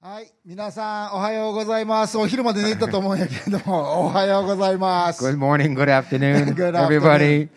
はい、皆さんおはようございます。お昼まで寝たと思うんやけれども、おはようございます。 Good morning, good afternoon, Good everybody.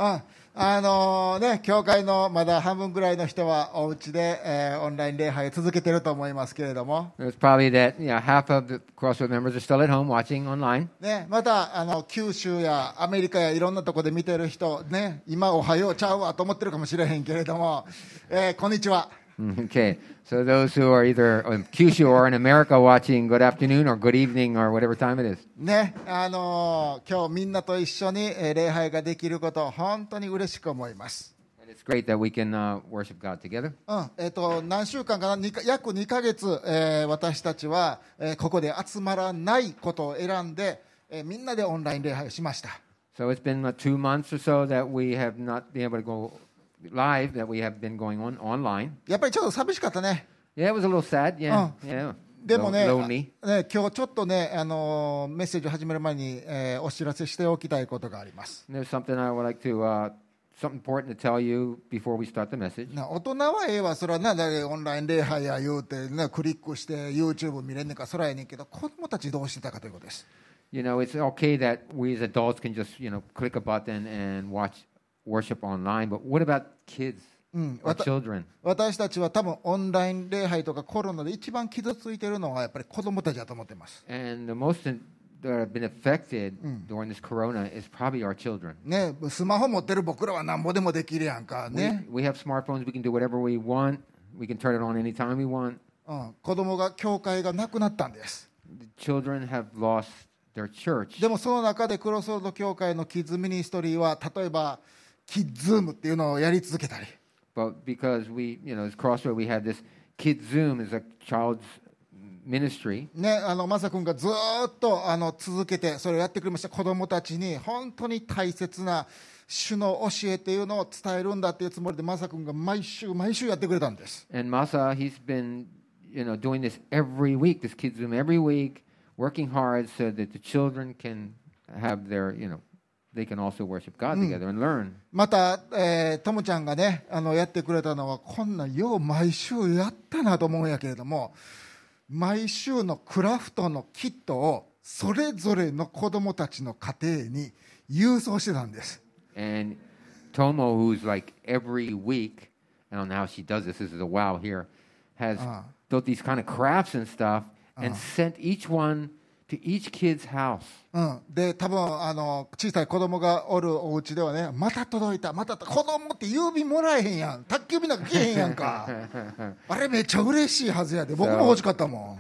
afternoon. 教会のまだ半分ぐらいの人はお家で、オンライン礼拝続けてると思いますけれども、 It's probably that half of the Crossroad members are still at home watching online. ね、また九州やアメリカやいろんなところで見てる人、ね、今おはようちゃうわと思ってるかもしれへんけれども、こんにちは。 Okay, so those who are either in Kyushu or in America watching, good afternoon or good evening or whatever time it is. ね、今日みんなと一緒に礼拝ができること、本当に嬉しく思います。 And it's great that we can worship God together. 何週間かな、約2ヶ月、私たちは、ここで集まらないことを選んで、みんなでオンライン礼拝をしました。 So it's been 2 months or so that we have not been able to go live, that we have been going on online. やっぱりちょっと寂しかったね。 Yeah, it was a little sad. Yeah, yeah. でもね、 lonely. 今日ちょっとね、メッセージを始める前に、お知らせしておきたいことがあります。 There's something I would like to, something important to tell you before we start the message. 大人はええわ、それはな、オンライン礼拝や言うて、ね、クリックして YouTube 見れんねんか、そらやねんけど、子供たちどうしてたかということです。 You know, it's okay that we as adults can just, click a button and watch worship online, but what about kids or children? 私たちは多分オンライン礼拝とかコロナで一番傷ついているのはやっぱり子供たちだと思っています。 And the most that have been affected during this corona is probably our children. ね、スマホ持ってる僕らはなんぼでもできるやんかね。 We have smartphones, we can do whatever we want, we can turn it on anytime we want. 子供が教会がなくなったんです。 The children have lost their church. でもその中でクロスロード教会のキッズミニストリーは例えばキッズームっていうのをやり続けたり。 But because we, as Crossroad, we have this Kid Zoom is a child's ministry. ね、マサ君がずーっと続けてそれをやってくれました。子供たちに本当に大切な主の教えっていうのを伝えるんだっていうつもりでマサ君が毎週やってくれたんです。 And Masa, he's been, doing this every week, this Kid Zoom every week, working hard so that the children can have their, they can also worship God together and learn. また、トムちゃんがね、やってくれたのはこんなよう毎週やったなと思うんやけれども、毎週のクラフトのキットをそれぞれの子供たちの家庭に郵送してたんです。 And Tomo, who's like every week, I don't know how she does this. This is a wow here, has built these kind of crafts and stuff and sent each one to each kid's house. で多分小さい子供がおるお家ではね、また届いた、また子供って郵便もらえへんやん、宅急便なんか来えへんやんか。あれめっちゃ嬉しいはずやで、僕も欲しかったもん。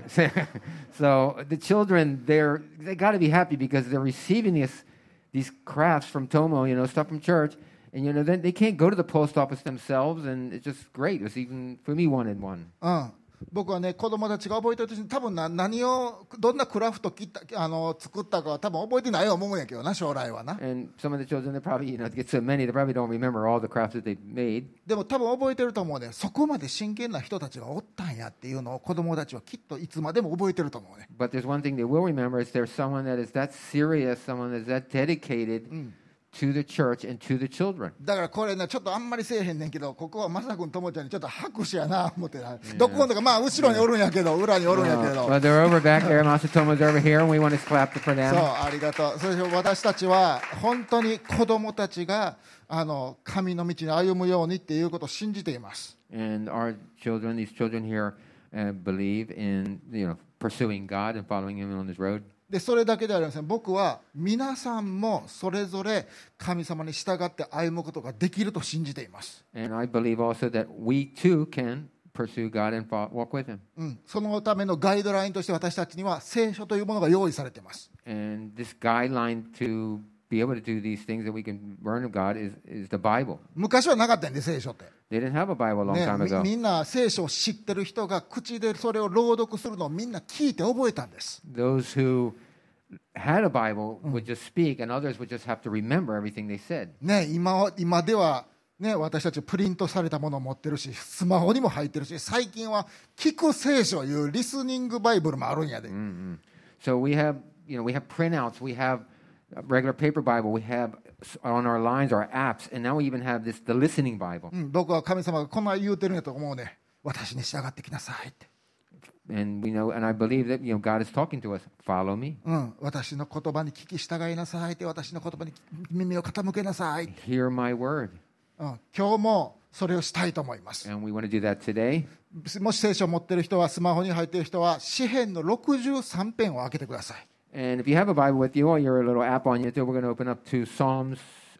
So the children, they got to be happy because they're receiving these crafts from Tomo, stuff from church, and then they can't go to the post office themselves, and it's just great. It was even for me wanted one. 僕はね、子供たちが覚えてると多分何をどんなクラフト作ったかは多分覚えてないと思うんやけどな、将来はな。 And some of the children, they probably, to get so many, they probably don't remember all the crafts that they made. でも多分覚えてると思うね。そこまで真剣な人たちがおったんやっていうのを子供たちはきっといつまでも覚えてると思うね。 But there's one thing they will remember is there's someone that is that serious, someone that is that dedicated to the church and to the children. だからこれね、ちょっとあんまりせえへんねんけど、ここはまさくんともちゃんにちょっと拍手やな思ってな。どこのかまあ後ろにおるんやけど、裏におるんやけど。 Well, they're over back there. Masatomo's over here, and we want to clap for them. そう、ありがとう。それで私たちは本当に子供たちが神の道に歩むようにっていうことを信じています。 And our children, these children here, believe in pursuing God and following Him on His road. でそれだけではありません。僕は皆さんもそれぞれ神様に従って歩むことができると信じています。 And I believe also that we too can pursue God and walk with Him. そのためのガイドラインとして私たちには聖書というものが用意されています。 And this guideline to be able to do these things that we can learn of God is the Bible. 昔はなかったんで聖書って。 They didn't have a Bible a long time ago. みんな聖書を知ってる人が口でそれを朗読するのをみんな聞いて覚えたんです。 Those who had a Bible would just speak, and others would just have to remember everything they said. ね、今では、ね、私たちプリントされたものを持ってるし、スマホにも入ってるし、最近は聞く聖書いうリスニングバイブルもあるんやで。 So we have printouts, we have a regular paper Bible, we have on our lines, our apps, and now we even have the listening Bible. 僕は神様がこんな言うてるんやと思うね。私に従ってきなさいって。 and we know, and I believe that God is talking to us. Follow me. 私の言葉に聞き従いなさいって、私の言葉に耳を傾けなさい。 Hear my word. 今日もそれをしたいと思います。 And we want to do that today. もし聖書を持っている人は、スマホに入っている人は、詩編の63編を開けてください。 And if you have a Bible with you or your little app on YouTube, we're going to open up to Psalms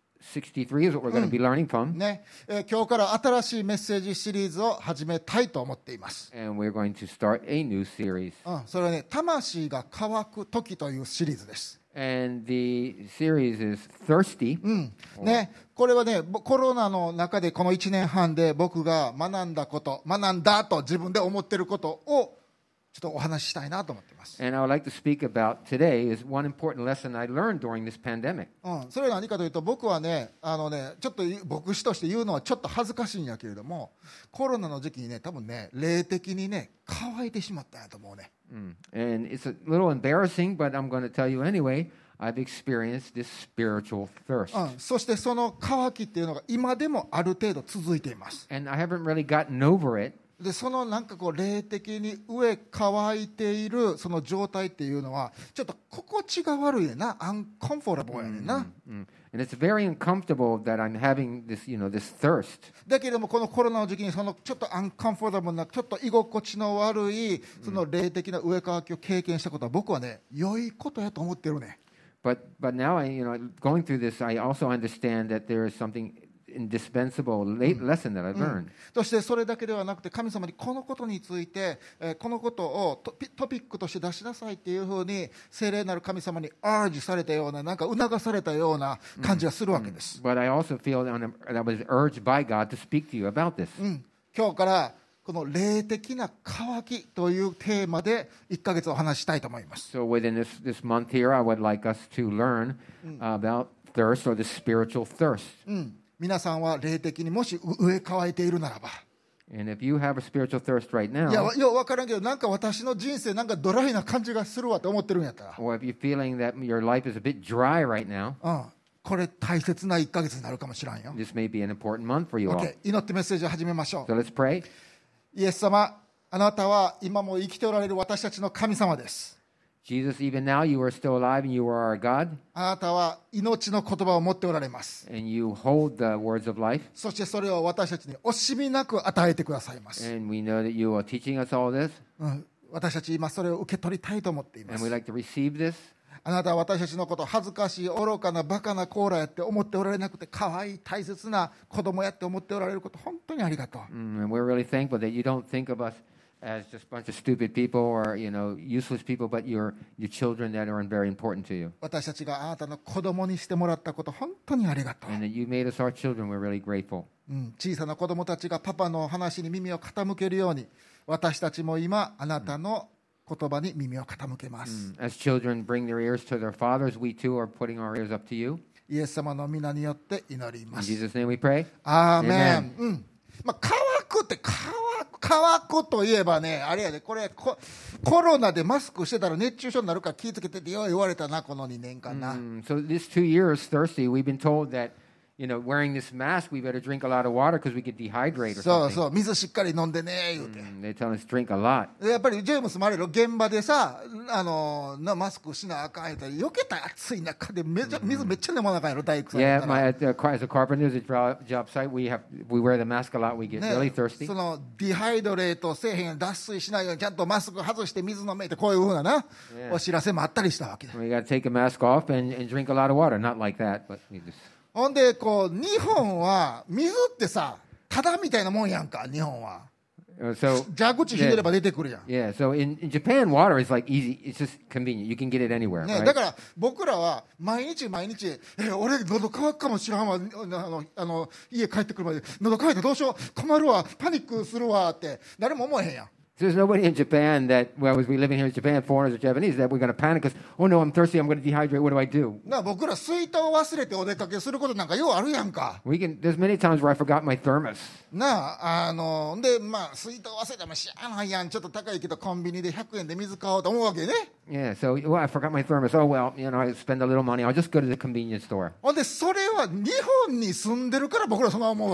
63 is what we're going to be learning from. ね、今日から新しいメッセージシリーズを始めたいと思っています。 And we're going to start a new series. それはね、魂が乾く時というシリーズです。 And the series is Thirsty. ね、これはね、コロナの中でこの1年半で僕が学んだこと、学んだと自分で思っていることをちょっとお話ししたいなと思っています。 And I would like to speak about today is one important lesson I learned during this pandemic. それは何かというと、僕はね、ちょっと牧師として言うのはちょっと恥ずかしいんやけれども、コロナの時期にね、多分ね、霊的にね、乾いてしまったんやと思うね。 And it's a little embarrassing, but I'm going to tell you anyway. I've experienced this spiritual thirst. そしてその乾きっていうのが今でもある程度続いています。 And I haven't really gotten over it. でそのなんかこう霊的に上乾いているその状態っていうのはちょっと心地が悪いねんな、アンコンフォーラブルやねんな。 And it's very uncomfortable that I'm having this, this thirst. だけれどもこのコロナの時期にそのちょっとアンコンフォーラブルなちょっと居心地の悪いその霊的な上乾きを経験したことは僕はね良いことやと思ってるね。 But now going through this, I also understand that there is something indispensable lesson that I've learned. そしてそれだけではなくて神様にこのことについて、このことをトピックとして出しなさいっていうふうに聖霊なる神様にアージされたような、なんか促されたような感じがするわけです。 But I also feel that I was urged by God to speak to you about this. 今日からこの霊的な渇きというテーマで1ヶ月お話ししたいと思います。 So within this month here, I would like us to learn about thirst or the spiritual thirst. 皆さんは霊的にもし上乾いているならば、 And if you have a spiritual thirst right いや now, よう分からんけど、なんか私の人生なんかドライな感じがするわって思ってるんやったら、 or if you're feeling that your life is a bit dry right now, これ大切な1ヶ月になるかもしれんよ。 this may be an important month for you all. OK、祈ってメッセージを始めましょう。 So let's pray. イエス様、あなたは今も生きておられる私たちの神様です。 Jesus, even now you are still alive and you are our God, あなたは命の言葉を持っておられます。 and you hold the words of life, そしてそれを私たちに惜しみなく与えてくださいます。 and we know that you are teaching us all this, 私たち今それを受け取りたいと思っていま and す。 we'd like to receive this. あなたは私たちのこと恥ずかしい愚かなバカなコーラやって思っておられなくて、可愛い大切な子供やって思っておられること本当にありがとう。 And we're really thankful that you don't think of us as just a bunch of stupid people or useless people, but you're children that are very important to you. 私たちがあなたの子供にしてもらったこと本当にありがとう。 And that you made us our children, we're really grateful. 小さな子供たちがパパの話に耳を傾けるように、私たちも今あなたの言葉に耳を傾けます。 As children bring their ears to their fathers, we too are putting our ears up to you. イエス様の皆によって祈りま In す。 Jesus' name we pray. アーメン。乾くって乾くといえばね、あれやで、これコロナでマスクしてたら熱中症になるから気をつけてってよう言われたな、この2年間な。 So this 2 years thirsty, we've been told that wearing this mask, we better drink a lot of water because we get dehydrated or そう something. そう、水しっかり飲んでね言うて。 They tell us drink a lot. やっぱりジェームスもあれよ、現場でさ、マスクしなあかんやったら、避けた暑い中で水めっちゃ飲まなあかんやろ、大工さんやっ Yeah, たら。 as a carpenter, as a job site, we wear the mask a lot. We get ね really thirsty. そのディハイドレートせえへんように脱水しないようにちゃんとマスク外して水飲めってこういうふうなな、お知らせもあったりしたわけだ。 We got to take a mask off and drink a lot of water. Not like that, but we just. ほんでこう日本は水ってさただみたいなもんやんか。日本は So 蛇口ひねれば出てくるやん、 yeah, so in Japan, water is like easy. It's just convenient. You can get it anywhere. ね Right? だから僕らは毎日俺喉乾くかもしらんわ、家帰ってくるまで喉乾いてどうしよう困るわパニックするわって誰も思えへんやん。 So there's nobody in Japan that, well, as we living here in Japan, foreigners or Japanese, that we're going to panic because, oh no, I'm thirsty, I'm going to dehydrate, what do I do? 僕ら水筒を忘れてお出かけすることなんかようあるやんか。 There's many times where I forgot my thermos. で水筒忘れてもしゃあないやん、ちょっと高いけどコンビニで100円で水買おうと思うわけね。 Yeah, so, well, I forgot my thermos. Oh, well, I spend a little money. I'll just go to the convenience store. ほんでそれは日本に住んでるから僕らそんな思うわけ。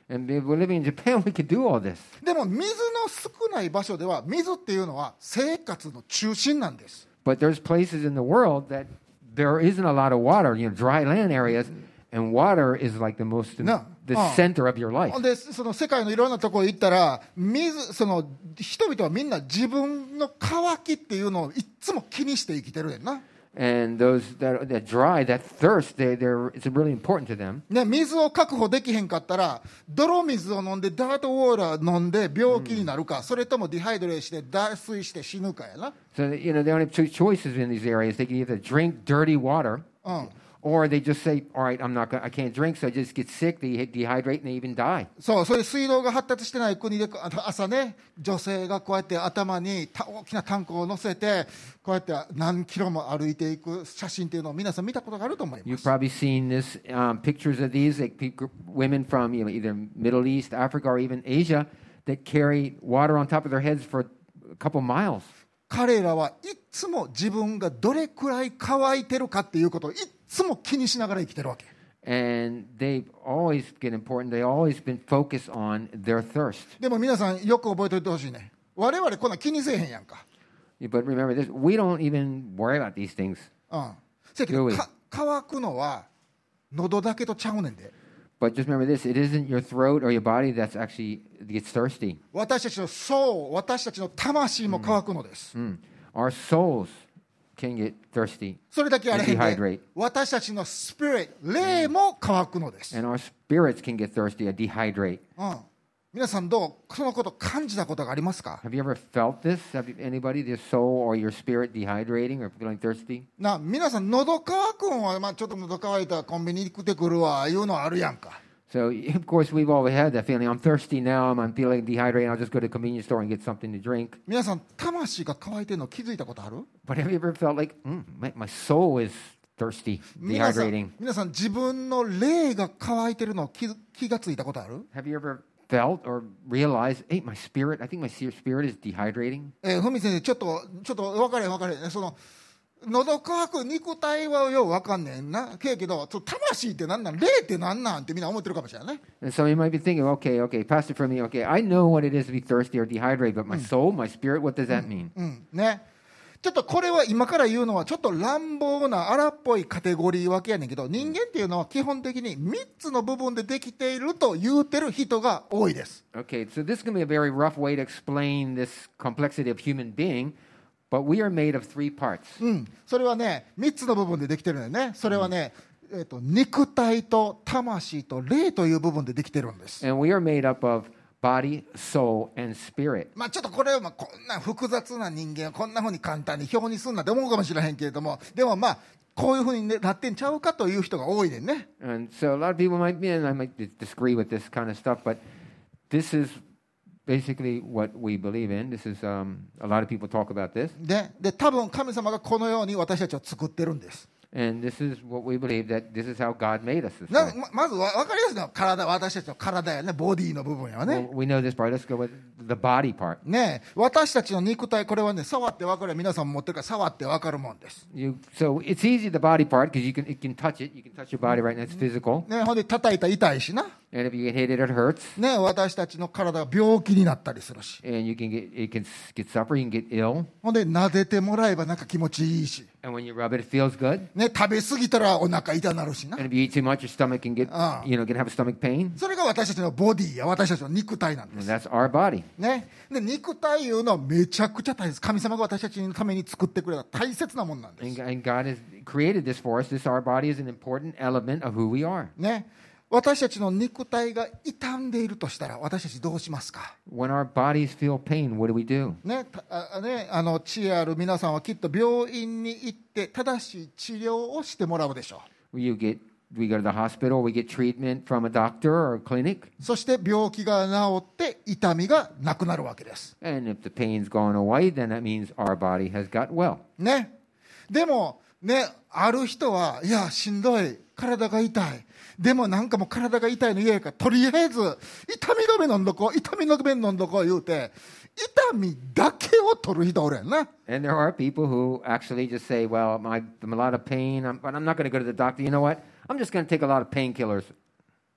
And if we're living in Japan, we could do all this. でも水の少ない場所では水っていうのは生活の中心なんです。 But there's places in the world that there isn't a lot of water, dry land areas, and water is like the most, the center of your life. でその世界のいろんなところ行ったらその人々はみんな自分の渇きっていうのをいつも気にして生きてるやんな。 And those that dry, that thirst, it's really important to them. ね、水を確保できへんかったら泥水を飲んでダートウォーラー飲んで病気になるか、それともディハイドレーして脱水して死ぬかやな。 So, they only have two choices in these areas. They can either drink dirty water, うん、 or they just say, all right, I can't drink, so I just get sick, they dehydrate, and they even die. そう、水道が発達してない国で朝ね、女性がこうやって頭に大きなタンクを乗せてこうやって何キロも歩いていく写真っていうのを皆さん見たことがあると思いま You've す。 probably seen this pictures of these, like women from either Middle East, Africa, or even Asia that carry water on top of their heads for a couple miles. 彼らはいつも自分がどれくらい乾いてるかっていうことをいつも気にしながら生きてるわけ。 And they always get important. They always been focused on their thirst. でも皆さんよく覚えておいてほしいね。我々こんな気にせえへんやんか。 But remember this, we don't even worry about these things. うん。せやけど Do we? 乾くのは喉だけとちゃうねんで。 But just remember this, it isn't your throat or your body that's actually gets thirsty. 私たちのソウル、私たちの魂も乾くのです。 Our souls can get thirsty それだけあれへん and で dehydrate. 私たちのスピリット、霊も乾くのです。 And our spirits can get thirsty and dehydrate. うん。皆さんどうそのこと感じたことがありますか？ Have you ever felt this? Anybody, their soul or your spirit dehydrating or feeling thirsty? 皆さん喉乾くんは、ちょっと喉乾いたらコンビニ行ってくるわいうのあるやんか。 So, of course, we've always had that feeling. I'm thirsty now. I'm feeling dehydrated. I'll just go to the convenience store and get something to drink. 皆さん魂が乾いてるの気づいたことある？ But have you ever felt like, my soul is thirsty, 皆さ dehydrating? ん自分の霊が乾いてるの気がついたことある？ Have you ever felt or realized, hey, my spirit, I think my spirit is dehydrating? ふみ先生ちょっと分かれへんね。その喉乾く肉体はよう分かんねんなけど魂って何なん霊って何なんってみんな思ってるかもしれないね。 And so you might be thinking, okay, Pastor, for me, okay, I know what it is to be thirsty or dehydrated, but my soul, my spirit, what does that mean? ね、ちょっとこれは今から言うのはちょっと乱暴な荒っぽいカテゴリー分けやねんけど、人間っていうのは基本的に3つの部分でできていると言うてる人が多いです。 Okay, so this is going to be a very rough way to explain this complexity of human being, but we are made of 3 parts. それはね3つの部分でできてるんだよね。それはね、肉体と魂と霊という部分でできてるんです。 And we are made up of body, soul, and spirit. ちょっとこれはこんな複雑な人間をこんなふうに簡単に表にすんなって思うかもしれへんけれども、でもこういうふうになってんちゃうかという人が多いでね。 And so a lot of people might be, and I might disagree with this kind of stuff, but this is basically what we believe in. This is, a lot of people talk about this. で多分神様がこのように私たちを作ってるんです。 And this is what we believe, that this is how God made us. This な way. まず分かりやすいのは体、私たちの体やね、ボディの部分やね。 Well, we know this part. Let's go with the body part. ね、私たちの肉体、これはね、触って分かる、皆さんも持ってるから触って分かるもんです。 So it's easy, the body part, because you can touch it. You can touch your body right now. It's physical. ね、ほんで叩いたら痛いしな。 And if you get hit, it hurts. ね、私たちの体が病気になったりするし。 And it can get suffer. You can get ill. ほんで撫でてもらえばなんか気持ちいいし。 And when you rub it, it feels good. ね、食べ過ぎたらお腹痛なるしな。 And if you eat too much, your stomach can get, can have a stomach pain. それが私たちのボディや私たちの肉体なんで And す。 that's our body. ね、で肉体いうのはめちゃくちゃ大切。神様が私たちのために作ってくれた大切なもんなんです。 And God has created this for us. Our body is an important element of who we are. ね、私たちの肉体が傷んでいるとしたら私たちどうしますか？ When our bodies feel pain, what do we do? ね、知恵ある皆さんはきっと病院に行って正しい治療をしてもらうでしょう。 We go to the hospital, we get treatment from a doctor or a clinic. そして病気が治って痛みがなくなるわけです。 And if the pain's gone away, then that means our body has got well. ね、でもね、ある人はいやしんどい、体が痛い、でもなんかもう体が痛いの嫌やからとりあえず痛み止め飲んどこう、痛み止め飲んどこう言うて痛みだけを取る人おるやんな。 And there are people who actually just say, well, I'm a lot of pain, but I'm not going to go to the doctor. You know what? I'm just going to take a lot of painkillers.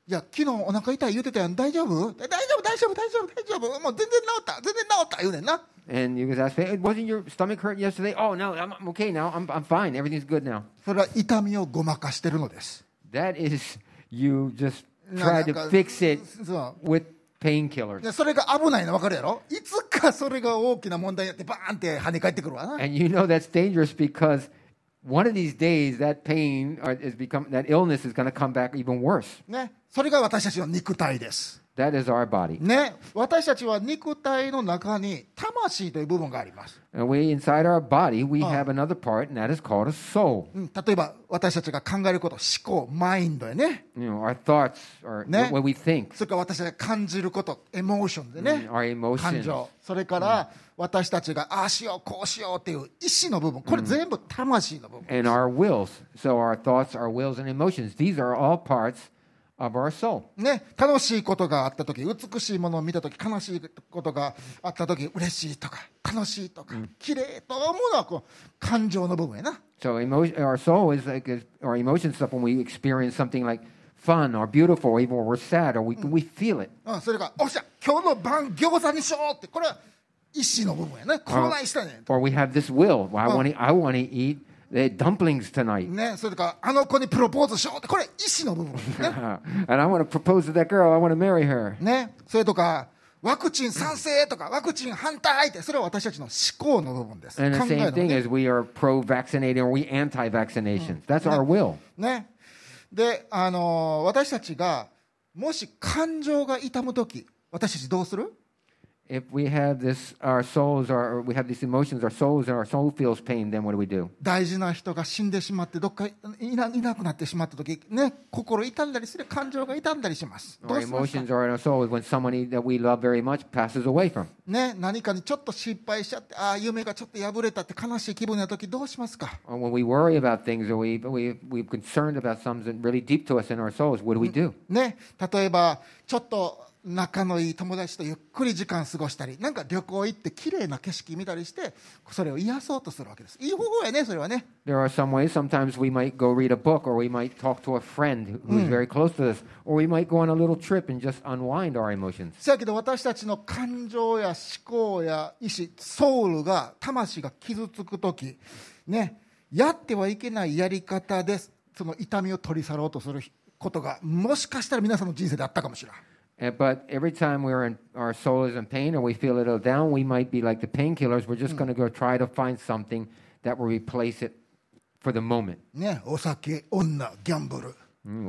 いや昨日お腹痛い言うてたやん、大丈夫大丈夫大丈夫大丈夫大丈夫、もう全然治った全然治った言うねんな。 And you guys ask, hey, wasn't your stomach hurt yesterday? Oh, no, I'm okay now. I'm fine. Everything's good now. それは痛みをごまかしてるのです。 That is you just な try んか to fix it そう with painkillers. でそれが危ないの分かるやろ。いつかそれが大きな問題になってバーンって跳ね返ってくるわな。 And you know that's dangerous because one of these days that pain that illness is going to come back even worse. ね、それが私たちの肉体です。 That is our body. ね、私たちは肉体の中に魂という部分があります。 And inside our body, we have another part, and that is called a soul. 例えば私たちが考えること、思考、マインドやね。 You know, our thoughts, or Ne? what we think, それから私たちが感じること、エモーションでね。 our 感 emotions. 情。それから私たちがああしよう、こうしようっていう意志の部分。これ全部魂の部分。 And our wills. So our thoughts, our wills, and emotions. These are all parts of our soul. ね、楽しいことがあったとき、美しいものを見たとき、悲しいことがあったとき、嬉しいとか、悲しいとか、綺麗と思うのはこう感情の部分やな。 So our soul is like our emotion stuff when we experience something like fun or beautiful, or even when we're sad, or we feel it. それから、おっしゃ、今日の晩餃子にしようって、これは意志の部分やね。こないしたね。 Or we have this will. Well, I want to eat the dumplings tonight. ね、それからあの子にプロポーズしようってこれ意志の部分ね。 And I want to propose to that girl. I want to marry her. ね、それとかワクチン賛成とかワクチン反対ってそれは私たちの思考の部分です。 And the 考え same の thing ね。 as we are pro-vaccinating or we anti-vaccinations. That's our will. ね。で、私たちがもし感情が痛むとき、私たちどうする？ If we have this, our souls are, or we have these emotions, our souls, and our soul feels pain, then what do we do? 大事な人が死んでしまってどっかいなくなってしまったとき、ね、心痛んだりする、感情が痛んだりします。どう Our しますか？ emotions are in our soul when somebody that we love very much passes away from. ね、何かにちょっと失敗しちゃって、ああ夢がちょっと破れたって悲しい気分なときどうしますか？ Or when we worry about things or we're concerned about something really deep to us in our souls, what do we do? ね、例えばちょっと仲のいい友達とゆっくり時間過ごしたり、なんか旅行行って綺麗な景色見たりしてそれを癒そうとするわけです。いい方法やね、それはね。 There are some ways. Sometimes we might go read a book, or we might talk to a friend who's very close to us, or we might go on a little trip and just unwind our emotions. せやけど私たちの感情や思考や意志、ソウルが魂が傷つくとき、ね、やってはいけないやり方でその痛みを取り去ろうとすることがもしかしたら皆さんの人生であったかもしれない。 But every time our soul is in pain or we feel a little down, we might be like the painkillers. We're just going to go try to find something that will replace it for the moment. ね、お酒、女、ギャンブル、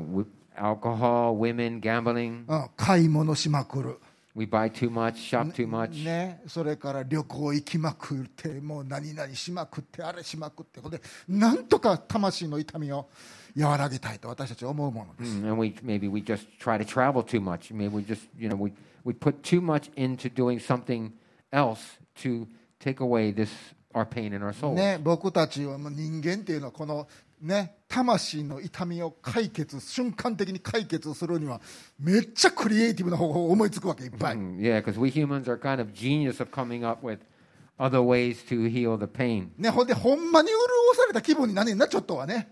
Alcohol, women, gambling. 買い物しまくる。 We buy too much, shop too much. ね、それから旅行行きまくってもう何々しまくってあれしまくってほんでなんとか魂の痛みを和らげたいと私たちは思うものです。 And maybe we just try to travel too much. Maybe we just, we put too much into doing something else to take away our pain in our soul. ね、僕たちはもう人間っていうのはこのね、魂の痛みを瞬間的に解決するにはめっちゃクリエイティブな方法を思いつくわけいっぱい。 Yeah, because we humans are kind of genius of coming up with other ways to heal the pain. ね、ほんでほんまに潤された気分になんねんなちょっとはね。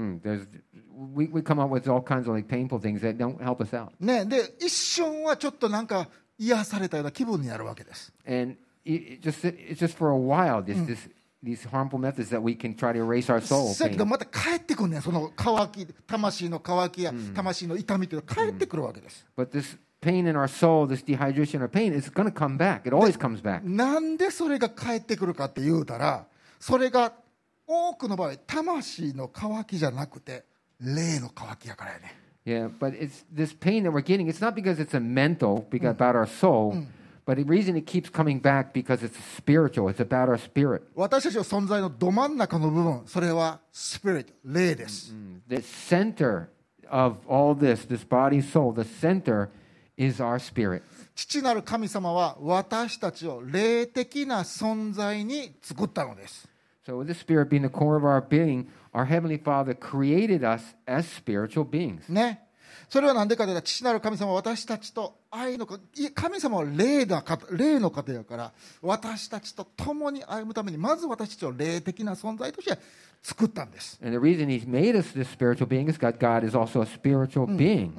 We come up with all kinds of like painful things that don't help us out. ね、で一瞬はちょっとなんか癒されたような気分になるわけです。 And it's just for a while, these harmful methods that we can try to erase our soul だけ pain. どまた帰ってくるねん、その渇き、魂の渇きや魂の痛みというのが帰ってくるわけです。 But this pain in our soul, this dehydration or pain, is going to come back. It always comes back. なんでそれが帰ってくるかって言うたら、それが多くの場合魂の渇きじゃなくて霊の渇きやからやね。 Yeah, but it's this pain that we're getting. It's not because it's a mental, about our soul, but the reason it keeps coming back because it's spiritual. It's about our spirit. 私たちの存在のど真ん中の部分、それはスピリット、霊です。 The center of all this body, soul, the center is our spirit. 父なる神様は私たちを霊的な存在に作ったのです。 So with the spirit being the core of our being, our Heavenly Father created us as spiritual beings. ね、それは何でかというと、父なる神様は私たちと神様は霊の方やから、私たちと共に歩むためにまず私たちを霊的な存在として作ったんです。 And the reason He's made us this spiritual being is God is also a spiritual being.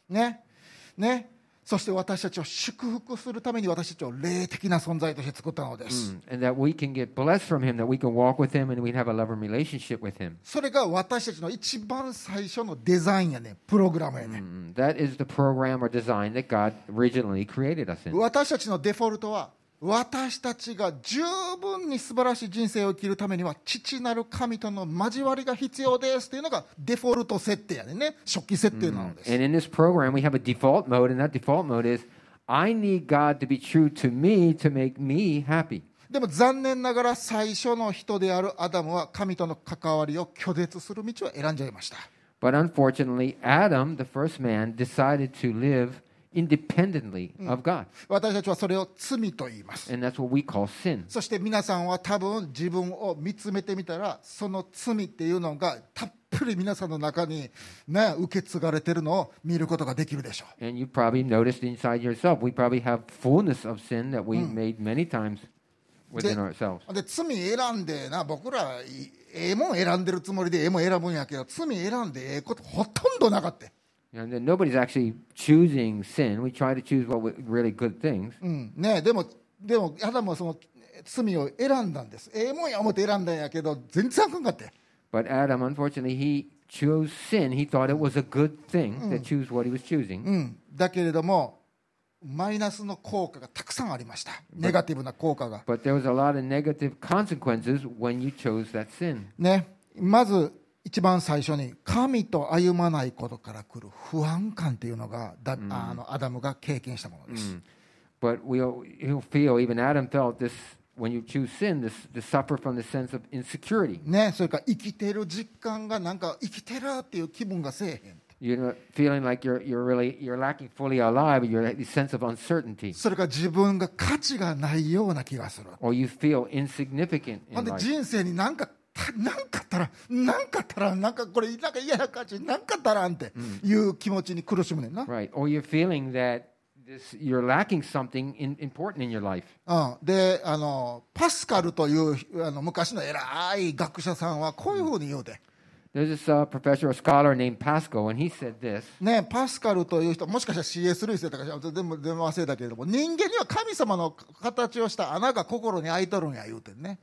ね。そして私たちを祝福するために私たちを霊的な存在として作ったのです。 And that we can get blessed from Him, that we can walk with Him, and we have a loving relationship with Him. それが私たちの一番最初のデザインやね、プログラムやね。 That is the program or design that God originally created us in. 私たちのデフォルトは、私たちが十分に素晴らしい人生を生きるためには父なる神との交わりが必要ですというのがデフォルト設定やね、初期設定なのです。 And in this program, we have a default mode, and that default mode is, I need God to be true to me to make me happy. でも残念ながら最初の人であるアダムは神との関わりを拒絶する道を選んじゃいました。 But unfortunately, Adam, the first man, decided to live independently of God. 私たちはそれを罪と言います。 And that's what we call sin. そして皆さんは多分自分を見つめてみたら、その罪っていうのがたっぷり皆さんの中に、ね、受け継がれているのを見ることができるでしょう。 And you probably noticed inside yourself, we probably have fullness of sin that we made many times within ourselves. で罪選んでな、僕らええもん選んでるつもりでええもん選ぶんやけど、罪選んでええことほとんどなかった。 And then nobody's actually choosing sin. We try to choose what were really good things. ね、でもアダムはその罪を選んだんです。ええもんや思って選んだんやけど全然あかんかった。 But Adam, unfortunately, he chose sin. He thought it was a good thing to choose what he was choosing. だけれどもマイナスの効果がたくさんありました。ネガティブな効果が。 But there was a lot of negative consequences when you chose that sin. ね、まず一番最初に神と歩まないことから来る不安感っていうのがアダムが経験したものです。 But he'll feel, even Adam felt this, when you choose sin, to suffer from the sense of insecurity. ね、それから生きてる実感がなんか生きてるっていう気分がせえへん。 You're not feeling like you're lacking fully alive. You're this sense of uncertainty. それから自分が価値がないような気がする。 Or you feel insignificant ほ in んで life. 人生になんかったらなんかこれなんか嫌な感じなんかったらんっていう気持ちに苦しむねんな。 Right. Or you're feeling that you're lacking something important in your life. でパスカルという昔の偉い学者さんはこういうふうに言うて、 There's this professor or scholar named Pascal, and he said this. ね、パスカルという人、もしかしたら C.S. ルイスだったかしら、全部忘れたけれども、人間には神様の形をした穴が心に開いとるんや言うてね。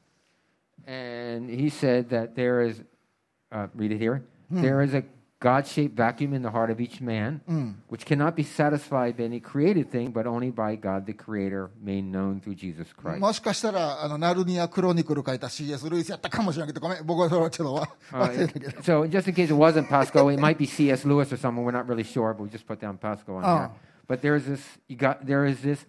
And he said that there is, read it here, there is a God-shaped vacuum in the heart of each man, which cannot be satisfied by any created thing, but only by God the Creator, made known through Jesus Christ. もしかしたらナルニア・クロニクル書いた C.S. ルイスやったかもしれないけど、ごめん、僕はそれはちょっと忘れたけど。 So just in case it wasn't Pascal, it might be C.S. Lewis or someone. We're not really sure, but we just put down Pascal on here. But there is this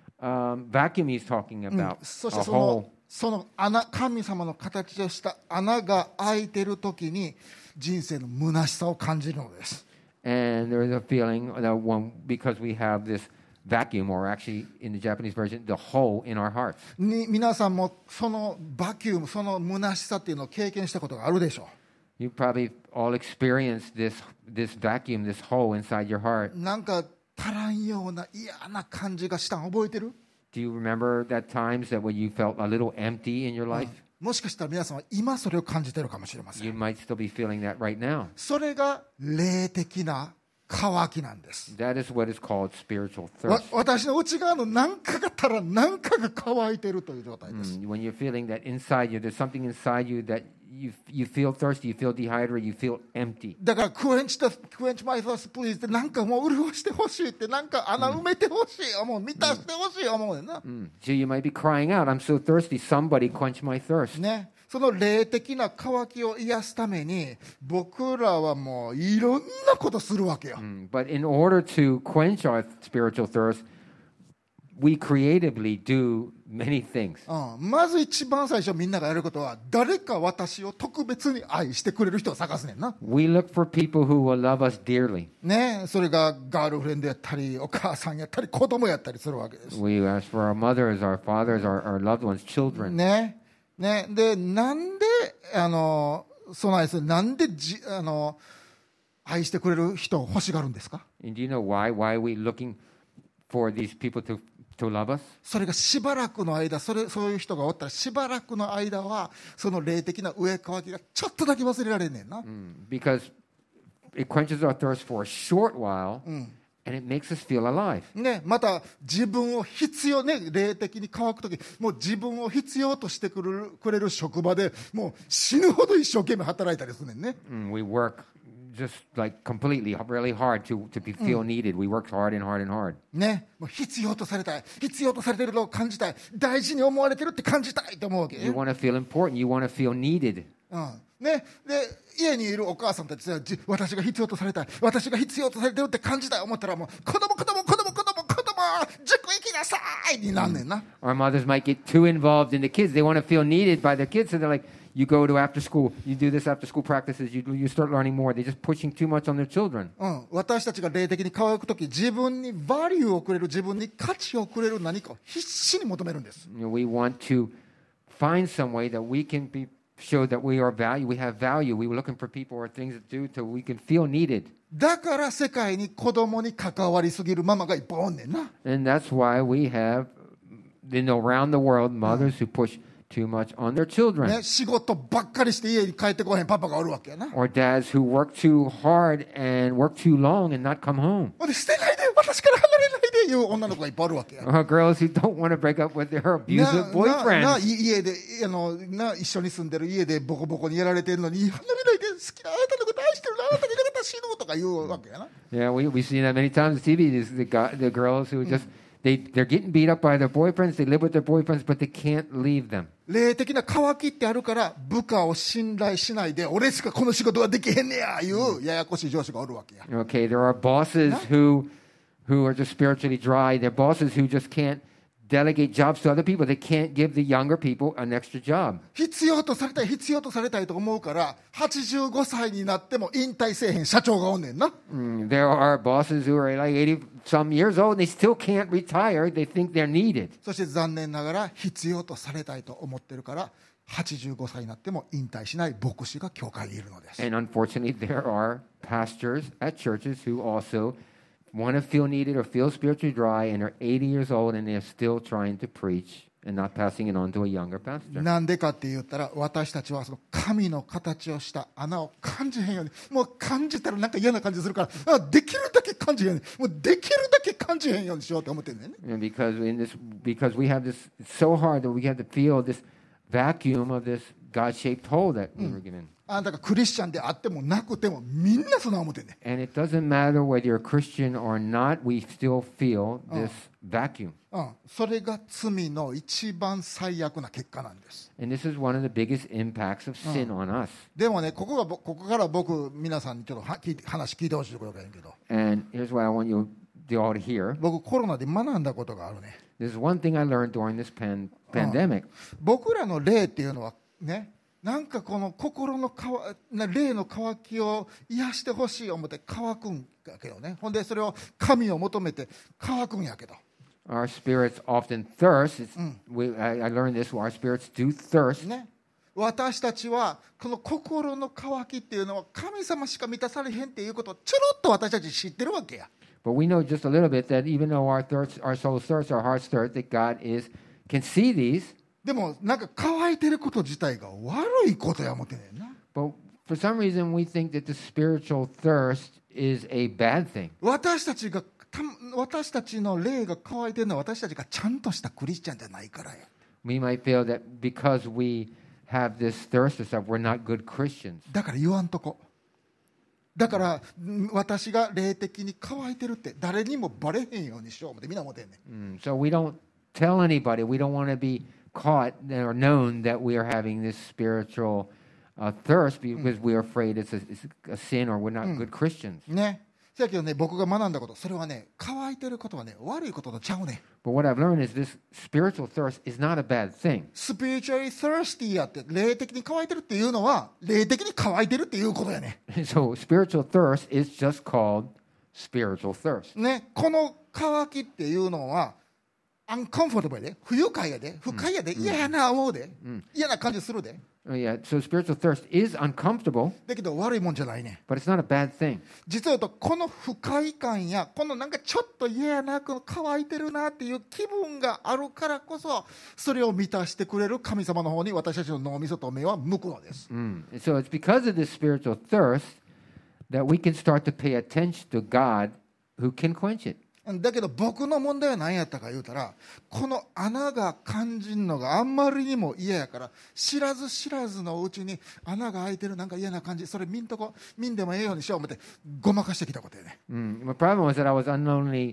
vacuum he's talking about, そし a て hole. その神様の形をした穴が開いてるときに人生の虚しさを感じるのです。 And there is a feeling that because we have this vacuum, or actually in the Japanese version, the hole in our hearts. 皆さんもそのバキューム、その虚しさっていうのを経験したことがあるでしょう。 You probably all experienced this vacuum, this hole inside your heart. なんか足らんような嫌な感じがしたん覚えてる？ Do you remember that times that when you felt a little empty in your life? もしかしたら皆さんは今それを感じてるかもしれませ You ん。 might still be feeling that right now. それが霊的な渇きなんです。 That is what is called spiritual thirst. 私の内側の何かが足らん、何かが乾いてるという状態です。 When you're feeling that inside you, there's something inside you that you feel thirsty, you feel dehydrated, you feel empty. だからクエンチマイサースプリーズってなんかもう潤してほしいって、なんか穴埋めてほしい思う、満たしてほしい思うねんな。 So you might be crying out, I'm so thirsty, somebody quench my thirst. ね、その霊的な渇きを癒すために僕らはもういろんなことするわけよ。 But in order to quench our spiritual thirst, we creatively do many things. まず一番最初みんながやることは誰か私を特別に愛してくれる人を探すねんな。 We look for people who will love us dearly. ね、それがガールフレンドやったりお母さんやったり子供やったりするわけです。 We ask for our mothers, our fathers, our loved ones, children. ね、でなんでその愛するなんで愛してくれる人を欲しがるんですか？ And do you know why? Why are we looking for these people to love us? それがしばらくの間、そういう人がおったらしばらくの間はその霊的な上乾きがちょっとだけ忘れられんねんな。 Because it quenches our thirst for a short while, And it makes us feel alive. ね、また自分を必要ね、霊的に乾くとき、もう自分を必要としてくれる職場でもう死ぬほど一生懸命働いたりするねんね。 We work just like completely, really hard to feel needed. We work hard and hard and hard. ね、もう必要とされたい、必要とされているのを感じたい、大事に思われてるって感じたいと思うわけ。 You want to feel important. You want to feel needed. ね、で家にいるお母さんたちは私が必要とされたい、私が必要とされてるって感じたい思ったらもう子供塾行きなさいになんねんな。 Our mothers might get too involved in the kids. They want to feel needed by their kids, so they're like, you go to after school, you do this after school practices, you start learning more. They're just pushing too much on their children. 私たちが霊的に乾くとき、自分にバリューをくれる、自分に価値をくれる何かを必死に求めるんです。 We want to find some way that we can show that we have value. We were looking for people or things to do till we can feel needed. だから世界に子供に関わりすぎるママがいっぱいおんねんな。 And that's why we have, around the world, mothers who push too much on their children. ね、仕事ばっかりして家に帰ってこへんパパがおるわけやな。 Or dads who work too hard and work too long and not come home. で捨てないで、私から離れないでいう女の子がいっぱいおるわけや。 Or girls who don't want to break up with their abusive boyfriends. 家で一緒に住んでる家でボコボコにやられてるのに離れないで、好きなあなたのこと愛してるの、あなたがいなかったら死ぬとか言うわけやな。 Yeah, we see that many times on TV. The girls who just they're getting beat up by their boyfriends. They live with their boyfriends, but they can't leave them. 霊的な渇きってあるから部下を信頼しないで、俺しかこの仕事ができへんねやいうややこしい上司がおるわけや。 Okay, there are bosses who are just spiritually dry. They're bosses who just can't delegate jobs to other people. They can't give the younger people an extra job. 必要とされたい、必要とされたいと思うから85歳になっても引退せえへん社長がおんねんな。 There are bosses who are like 80 some years old and they still can't retire. They think they're needed. そして残念ながら必要とされたいと思ってるから85歳になっても引退しない牧師が教会にいるのです。 And unfortunately, there are pastors at churches who also want to feel needed or feel spiritually dry and are 80 years old and they're still trying to preach and not passing it on to a younger pastor. なんでかって言ったら、私たちはその神の形をした穴を感じへんように、もう感じたらなんか嫌な感じするから、できるだけ感じへんように、もうできるだけ感じへんようにしようと思ってるんだよね。 And because we have this, it's so hard that we have to feel this vacuum of this God-shaped hole that we were given. だからクリスチャンであってもなくてもみんなそんな思ってんね。 And it doesn't matter whether you're a Christian or not, we still feel this vacuum. それが罪の一番最悪な結果なんです。 And this is one of the biggest impacts of sin on us. でもね、ここから僕皆さんにちょっと話聞いてほしいところがいいけど。 And here's what I want you all to hear. 僕コロナで学んだことがあるね。 There's one thing I learned during this pandemic. 僕らの霊っていうのはね、なんかこの心の霊の渇きを癒してほしい思って渇くんだけどね。ほんでそれを神を求めて渇くんやけど。 Our spirits often thirst. I learned this. Our spirits do thirst. ね。私たちはこの心の渇きっていうのは神様しか満たされへんっていうことをちょろっと私たち知ってるわけや。 But we know just a little bit that even though our soul's thirst, our heart's thirst, that God can see these. でもなんか乾いてること自体が悪いことや思ってんねんな。 But for some reason we think that the spiritual thirst is a bad thing. 私たちの霊が乾いてるのは私たちがちゃんとしたクリスチャンじゃないからや。 We might feel that because we have this thirst or stuff, we're not good Christians. だから言わんとこ。だから私が霊的に乾いてるって誰にもバレへんようにしよう思ってみんな思ってんねん。 So we don't tell anybody. We don't want to be caught or known that we are having this spiritual thirst because we are afraid it's a sin or we're not good Christians. ね。せやけどね、僕が学んだこと、それはね、乾いてることはね、悪いこととちゃうね。 But what I've learned is this spiritual thirst is not a bad thing. Spiritually thirsty やって霊的に乾いてるっていうのは霊的に乾いてるっていうことやね。 So spiritual thirst is just called spiritual thirst. ね、この乾きっていうのはuncomfortable で、不愉快やで、不快やで、嫌やな思うで、嫌な感じするで。 Yeah, so spiritual thirst is uncomfortable. だけど悪いもんじゃないね。 But it's not a bad thing. 実は言うとこの不快感やこのなんかちょっと嫌やな、この乾いてるなっていう気分があるからこそそれを満たしてくれる神様の方に私たちの脳みそと目は向くのです。 So it's because of this spiritual thirst that we can start to pay attention to God who can quench it. だけど僕の問題は何やったか言うたら、この穴が感じんのがあんまりにも嫌やから、知らず知らずのうちに穴が開いてるなんか嫌な感じ、それ見んでもええようにしよう思ってごまかしてきたことやね。 My problem was that I was unknowingly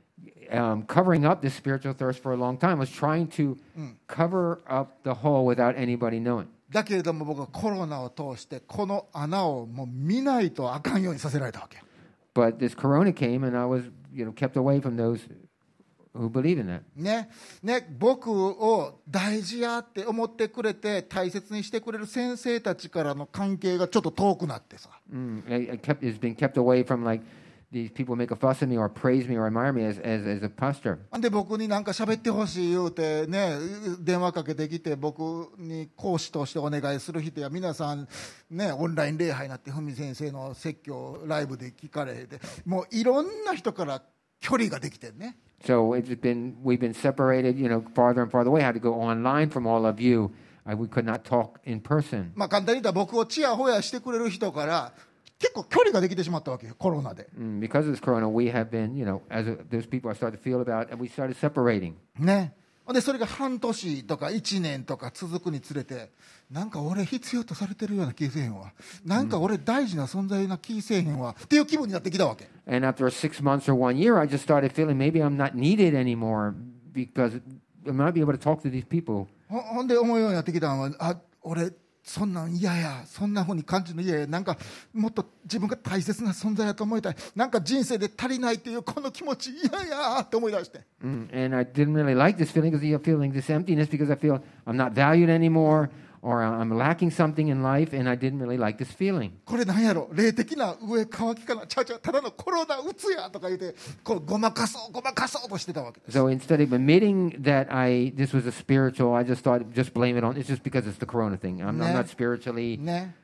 covering up this spiritual thirst for a long time. I was trying to cover up the hole without anybody knowing. だけれども僕はコロナを通してこの穴をもう見ないとあかんようにさせられたわけ。 But this corona came and I was, kept away from those who believe in that. ね、僕を大事やって思ってくれて大切にしてくれる先生たちからの関係がちょっと遠くなってさ。 It's been kept away from like these people make a fuss at me or praise me or admire me as a pastor. で僕になんか喋ってほしい言うてね、電話かけてきて僕に講師としてお願いする人や皆さんね、オンライン礼拝になって文先生の説教ライブで聞かれて、もういろんな人から距離ができてね。 So we've been separated, farther and farther away. I had to go online from all of you. We could not talk in person. まあ簡単に言ったら僕をちやほやしてくれる人から結構距離ができてしまったわけよ、コロナで。 Because of this corona, we have been, those people I started to feel about, and we started separating. ね。でそれが半年とか1年とか続くにつれて、なんか俺必要とされてるような気せえへんわ、なんか俺大事な存在な気せえへんわっていう気分になってきたわけ。 And after 6 months or 1 year, I just started feeling maybe I'm not needed anymore because I might be able to talk to these people. ほんで思うようになってきたのは、俺そんなん嫌や、そんな風に感じるの嫌や、なんかもっと自分が大切な存在だと思いたい、なんか人生で足りないっていうこの気持ち嫌やって思い出して、 And I didn't really like this feeling because you're feeling this emptiness because I feel I'm not valued anymore or I'm lacking something in life, and I didn't really like this feeling. これなんやろ、霊的な上乾きかな、ちゃうただのコロナうつやとか言ってこうごまかそうとしてたわけです。 So instead of admitting that this was a spiritual, I just thought just blame it on, it's just because it's the corona thing. I'm not spiritually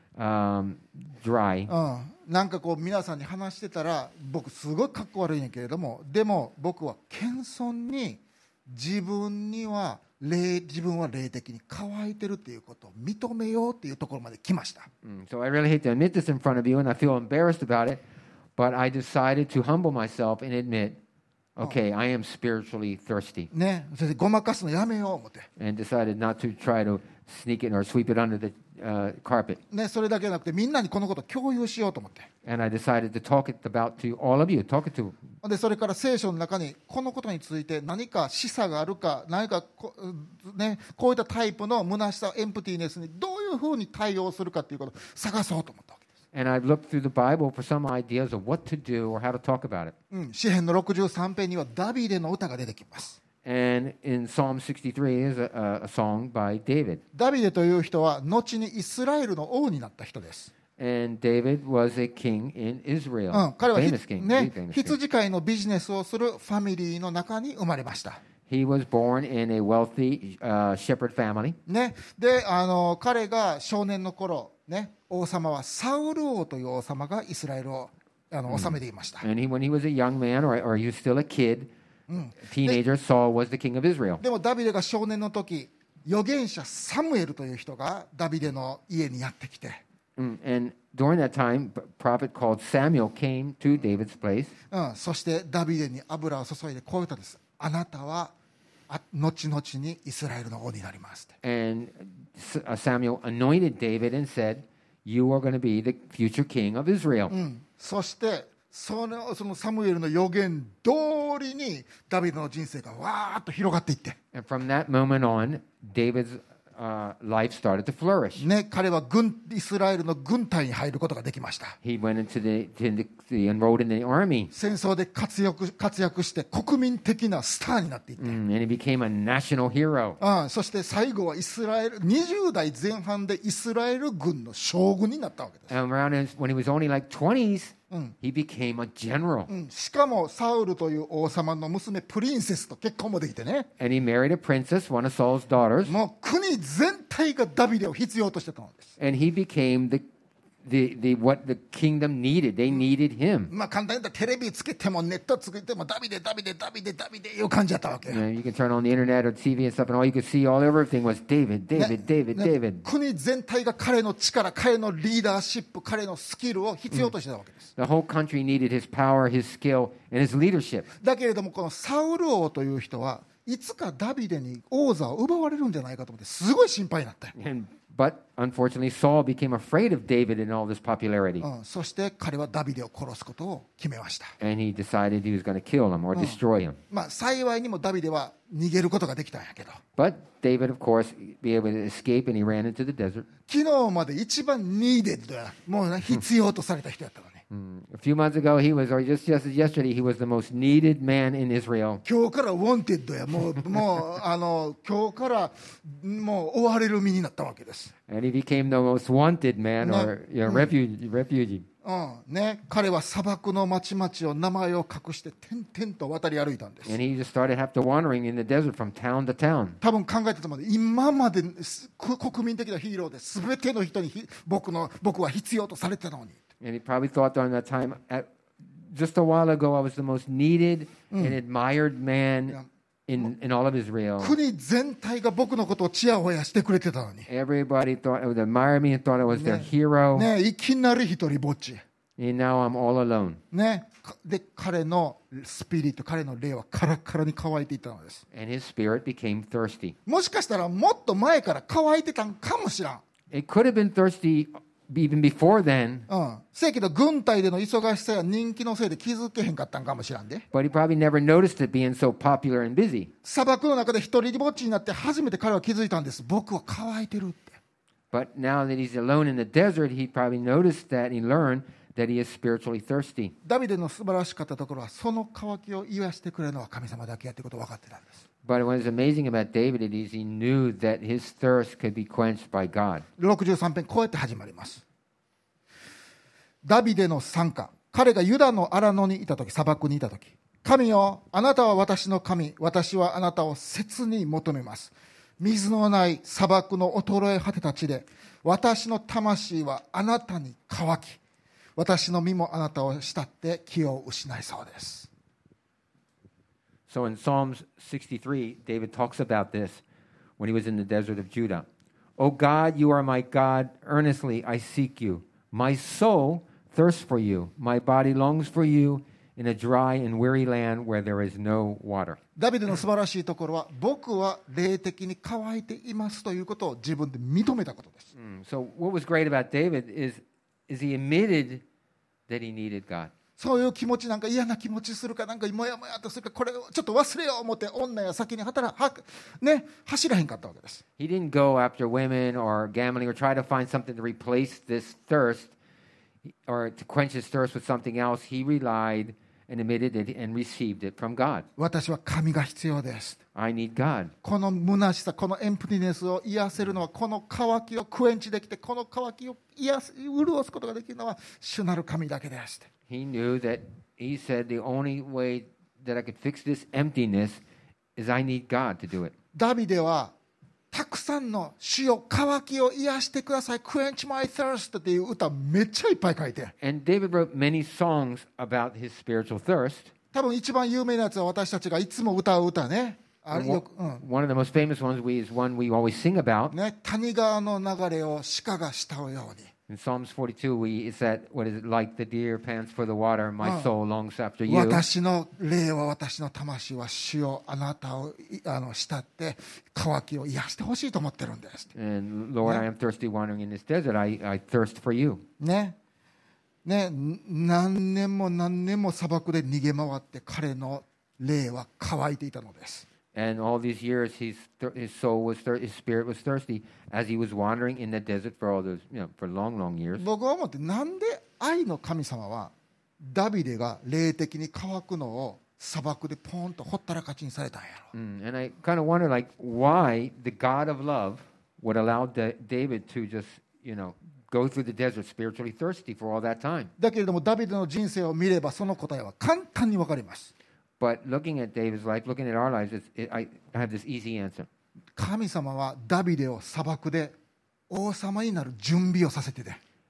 dry. なんかこう皆さんに話してたら僕すごいかっこ悪いんやけれども、でも僕は謙遜に自分は霊的に乾いてるっていうことを認めようっていうところまで来ました。 So I really hate to admit this in front of you, and I feel embarrassed about it, but I decided to humble myself and admit, okay, I am spiritually thirsty. ね、それでごまかすのやめよう思って。 And decided not to try to sneak it or sweep it under the carpet. ね、それだけじゃなくてみんなにこのことを共有しようと思って。 And I decided to talk it about to all of you, talk it to. でそれから聖書の中にこのことについて何か示唆があるか、何かこういったタイプの虚しさ、エンプティネスにどういうふうに対応するかということを探そうと思ったわけです。 And I've looked through the Bible for some ideas of what to do or how to talk about it. 詩編の63編にはダビデの歌が出てきます。 And in Psalm 63 is a song by David. ダビデという人は後にイスラエルの王になった人です。 And David was a king in Israel. 彼は Famous king. ね、 Famous king. 羊飼いのビジネスをするファミリーの中に生まれました。 He was born in a wealthy shepherd family. ね、で彼が少年の頃、ね、王様はサウル王という王様がイスラエルを治めていました。 And when he was a young man, or he was still a kid, teenager, Saul was the king of Israel. でもダビデが少年の時、預言者サムエルという人がダビデの家にやってきて、 And during that time, a prophet called Samuel came to David's place. そしてダビデに油を注いでこう言ったんです。あなたは後々にイスラエルの王になりますって。 And Samuel anointed David and said, "You are going to be the future king of Israel." そしてそのサムエルの預言通りにダビデの人生がわーっと広がっていって、 And from that moment on, David's life started to flourish. ね、彼はイスラエルの軍隊に入ることができました。 He went enrolled in the army. 戦争で活躍して国民的なスターになっていって、 And he became a national hero. そして最後は20代前半でイスラエル軍の将軍になったわけです。 And when he was only like 20s, he became a general. しかもサウルという王様の娘プリンセスと結婚もできてね。 And he married a princess, one of Saul's daughters. もう国全体がダビデを必要としてたのです。 And he became what the kingdom needed. They needed him. まあ簡単に言ったらテレビつけてもネットつけてもダビデいう感じだったわけ。 You can turn on the internet or TV and stuff, and all you could see all everything was David, David, David, ね David. 国全体が彼の力、彼のリーダーシップ、彼のスキルを必要としてたわけです。 The whole country needed his power, his skill, and his leadership. だけれどもこのサウル王という人はいつかダビデに王座を奪われるんじゃないかと思ってすごい心配になった。 But unfortunately, Saul became afraid of David and all this popularity. そして彼はダビデを殺すことを決めました。 And he decided he was going to kill him or destroy him. まあ幸いにもダビデは逃げることができたんやけど、 But David, of course, be able to escape, and he ran into the desert. 昨日まで一番ニーデッドや、もうね必要とされた人やったのね。 A few months ago, he was, or just yesterday, he was the most needed man in Israel. 今日からウォンテッドや、もう今日からもう追われる身になったわけです。 And he became the most wanted man or refugee. ね、彼は砂漠の町々を名前を隠して点々と渡り歩いたんです。 And he just started after wandering in the desert from town to town. 多分考えてたまで今まで国民的なヒーローで全ての人に僕は必要とされてたのに。 And he probably thought during that time, just a while ago, I was the most needed and admired man in all of Israel. 国全体が僕のことをちやほやしてくれてたのに、 Everybody thought would admire me and thought I was their hero. ね、いきなり一人ぼっち、 And now I'm all alone. ね、で彼のスピリット、彼の霊はカラッカラに乾いていったのです。 And his spirit became thirsty. もしかしたらもっと前から乾いてたんかもしらん。 It could have been thirsty even before then, せやけど軍隊での忙しさや人気のせいで気づけへんかったんかもしらんで。 but he probably never noticed it being so popular and busy. 砂漠の中で一人ぼっちになって初めて彼は気づいたんです。僕は乾いてるって。 But now that he's alone in the desert, he probably noticed that and he learned that he is spiritually thirsty. ダビデの素晴らしかったところはその渇きを癒してくれるのは神様だけやってことを分かってたんです。 But what is amazing about David is he knew that his thirst could be quenched by God. 63編こうやって始まります。ダビデの賛歌。彼がユダの荒野にいたとき、砂漠にいたとき、神よ、あなたは私の神、私はあなたを切に求めます。水のない砂漠の衰え果てた地で、私の魂はあなたに乾き、私の身もあなたを慕って気を失いそうです。 So in Psalms 63, David talks about this when he was in the desert of Judah. O God, you are my God. Earnestly I seek you. My soul thirsts for you. My body longs for you in a dry and weary land where there is no water. ダビデの素晴らしいところは、僕は霊的に乾いていますということを自分で認めたことです。 So what was great about David is he admitted that he needed God. そういう気持ち、なんか嫌な気持ちするか、なんかもやもやとするか、これをちょっと忘れよう思って女や先に走らへんかったわけです。 He didn't go after women or gambling or try to find something to replace this thirst or to quench his thirst with something else. He relied and admitted it and received it from God. 私は神が必要です。 I need God. この虚しさ、このエンプティネスを癒せるのは、この渇きをクエンチできて、この渇きを潤すことができるのは主なる神だけです。 He knew that he said the only way that I could fix this emptiness is I need God to do it. ダビデはたくさんの主よ渇きを癒してください、Quench my thirst っていう歌めっちゃいっぱい書いて、 And David wrote many songs about his spiritual thirst. 多分一番有名なやつは私たちがいつも歌う歌ね。 One of the most famous ones is one we always sing about. ね、谷川の流れを鹿が慕うように。 In Psalms 42, it said, what is it, like the deer pants for the water, my soul longs after you. 私の霊は、私の魂は主よあなたを慕って渇きを癒してほしいと思ってるんです。 And Lord, I am thirsty wandering in this desert. I thirst for you. ね、何年も何年も砂漠で逃げ回って彼の霊は乾いていたのです。 And all these years, his soul was his spirit was thirsty as he was wandering in the desert for all those, for long, long years. 僕は思って、なんで愛の神様はダビデが霊的に乾くのを砂漠でポンとほったらかちにされたんやろ。 And I kind of wonder, like, why the God of love would allow David to just, go through the desert spiritually thirsty for all that time. だけれどもダビデの人生を見ればその答えは簡単にわかります。 But looking at David's life, looking at our lives, I have this easy answer. 神様はダビデを砂漠で王様になる準備をさせてて、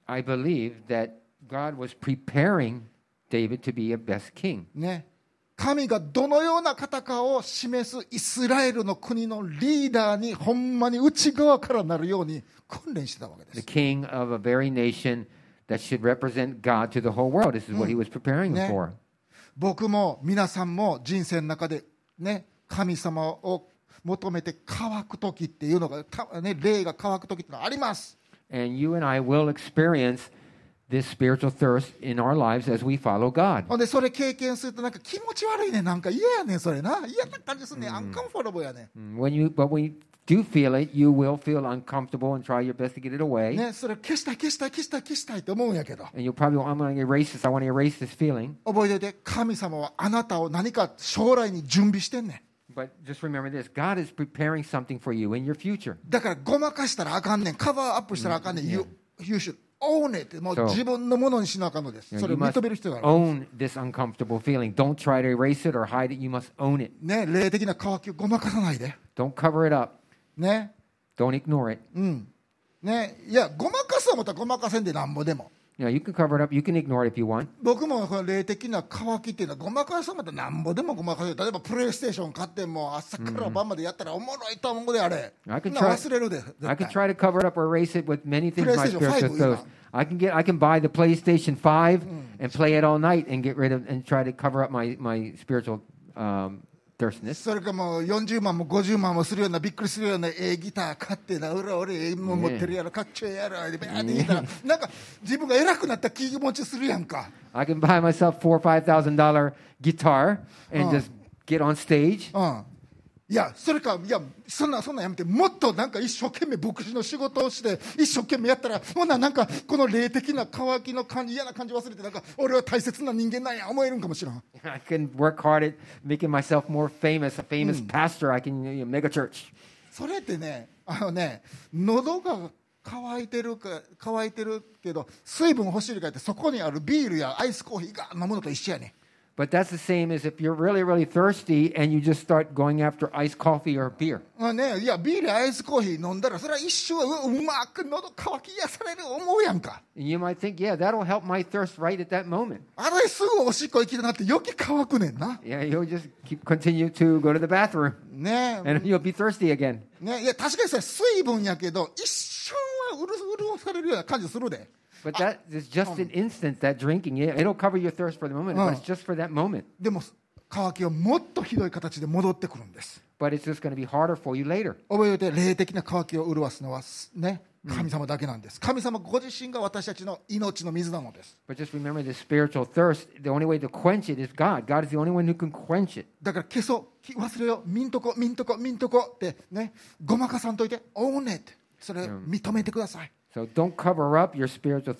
I believe that God was preparing David to be a best king. ね、神がどのような方かを示すイスラエルの国のリーダーにほんまに内側からなるように訓練してたわけで The す。 king of a very nation that should represent God to the whole world. This is what he was preparing him for. 僕も皆さんも人生の中でね、神様を求めて乾く時っていうのが、ね、霊が乾く時ってのはあります。 And you and I will experience this spiritual thirst in our lives as we follow God. ほんでそれ経験するとなんか気持ち悪いね、なんか嫌やねん、それな、嫌な感じするね、アンカンフォラブルやね。 But when you do feel it, you will feel uncomfortable and try your best to get it away. ね、それ消したい消したい消したい消したいって思うんやけど、 And you'll probably, I'm going to erase this. I want to erase this feeling. 覚えておいて、神様はあなたを何か将来に準備してんねん。 But just remember this. God is preparing something for you in your future. だからごまかしたらあかんねん、カバーアップしたらあかんねん、You should own it。 もう自分のものにしなあかんのです。 You know, それ you を must 認める必要がある。 own this uncomfortable feeling. Don't try to erase it or hide it. You must own it. ね、霊的な渇きをごまかさないで。 Don't cover it up. ね、 Don't ignore it. ね、いや、ごまかす思ったらごまかせんでなんぼでも。 You know, you can cover it up. You can ignore it if you want. 僕もこの霊的な渇きっていうのはごまかす思ったらなんぼでもごまかせる。例えばプレイステーション買っても朝から晩までやったらおもろいと思うであれ。 I can な try- 忘れるで。絶 I can 対 try to cover it up or erase it with many things. My PlayStation spiritual 5 thirst. I can buy the PlayStation 5 and play it all night and get rid of and try to cover up my spiritual thirstiness. それかもう40万も50万もするようなびっくりするようなギター買ってな、俺も持ってるやろ、かっちょええやろでバーって弾いたらなんか自分が偉くなった気持ちするやんか。 I can buy myself $4,000 or $5,000 guitar and just get on stage. いや、それか、いや、そんなんやめて、もっとなんか一生懸命牧師の仕事をして一生懸命やったら、ほんならなんかこの霊的な渇きの感じ、嫌な感じ忘れて、なんか俺は大切な人間なんや思えるんかもしれん。 I can work hard at making myself more famous, a famous pastor. I can make a church. それってね、喉が乾いてるけど水分欲しいかってそこにあるビールやアイスコーヒーが飲むのと一緒やね。 But that's the same as if you're really, really thirsty and you just start going after iced coffee or beer. ね、いやビールやアイスコーヒー飲んだらそれは一瞬うまく喉乾き癒される思うやんか。 And you might think, yeah, that'll help my thirst right at that moment. あれすぐおしっこ行きたなって余計乾くねんな。 Yeah, you'll just continue to go to the bathroom ね and you'll be thirsty again. ね、いや確かにそれ水分やけど一瞬は潤されるような感じするで。 But that is just an instant, that drinking. It'll cover your thirst for the moment, but it's just for that moment. でも乾きはもっとひどい形で戻ってくるんです。 But it's just going to be harder for you later. 覚えておいて、霊的な渇きを潤すのはね、神様だけなんです。神様ご自身が私たちの命の水なのです。 But just remember this spiritual thirst, the only way to quench it is God. God is the only one who can quench it. だから消そう、忘れよう、見んとこってね、ごまかさんといて、own it。それ認めてください。 So don't cover up your spiritual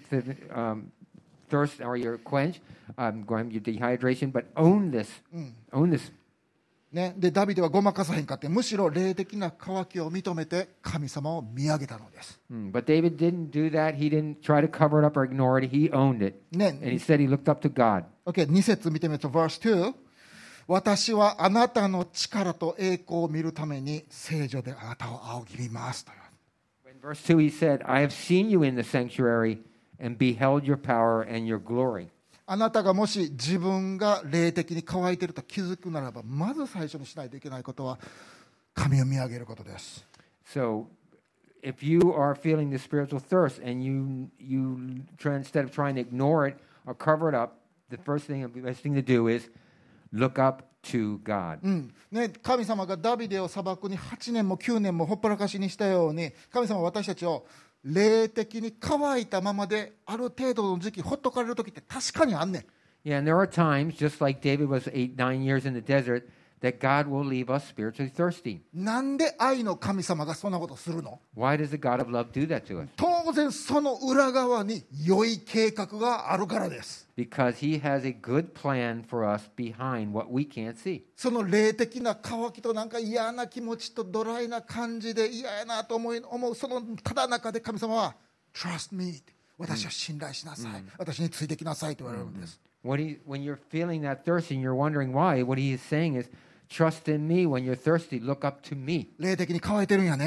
thirst or your quench, your dehydration, but own this. Own this. ね、でダビデはごまかさへんかって、むしろ霊的な渇きを認めて神様を見上げたのです。 But David didn't do that. He didn't try to cover it up or ignore it. He owned it. ね、 And he said he looked up to God. OK、2節見てみると、verse 2。私はあなたの力と栄光を見るために聖女であなたを仰ぎ見ますと。 In verse 2, he said, I have seen you in the sanctuary and beheld your power and your glory. あなたがもし自分が霊的に乾いていると気づくならば、まず最初にしないといけないことは神を見上げることです。 So if you are feeling the spiritual thirst and you try, instead of trying to ignore it or cover it up, the best thing to do is look up to God. ね、神様がダビデを砂漠に8年も9年もほっぽらかしにしたように、神様は私たちを霊的に乾いたままである程度の時期ほっとかれる時って確かにあんねん。 Yeah, and there are times, just like David was 8-9 years in the desert, that God will leave us spiritually thirsty. なんで愛の神様がそんなことするの？ Why does the God of love do that to us? 当然その裏側に良い計画があるからです。 Because he has a good plan for us behind what we can't see. その霊的な渇きとなんか嫌な気持ちとドライな感じで嫌やなと思うそのただ中で神様は Trust me 私を信頼しなさい、私についてきなさいと言われるんです。 When you're feeling that thirst and you're wondering why, what he is saying is, trust in me when you're thirsty, look up to me. 霊的に乾いてるんやね。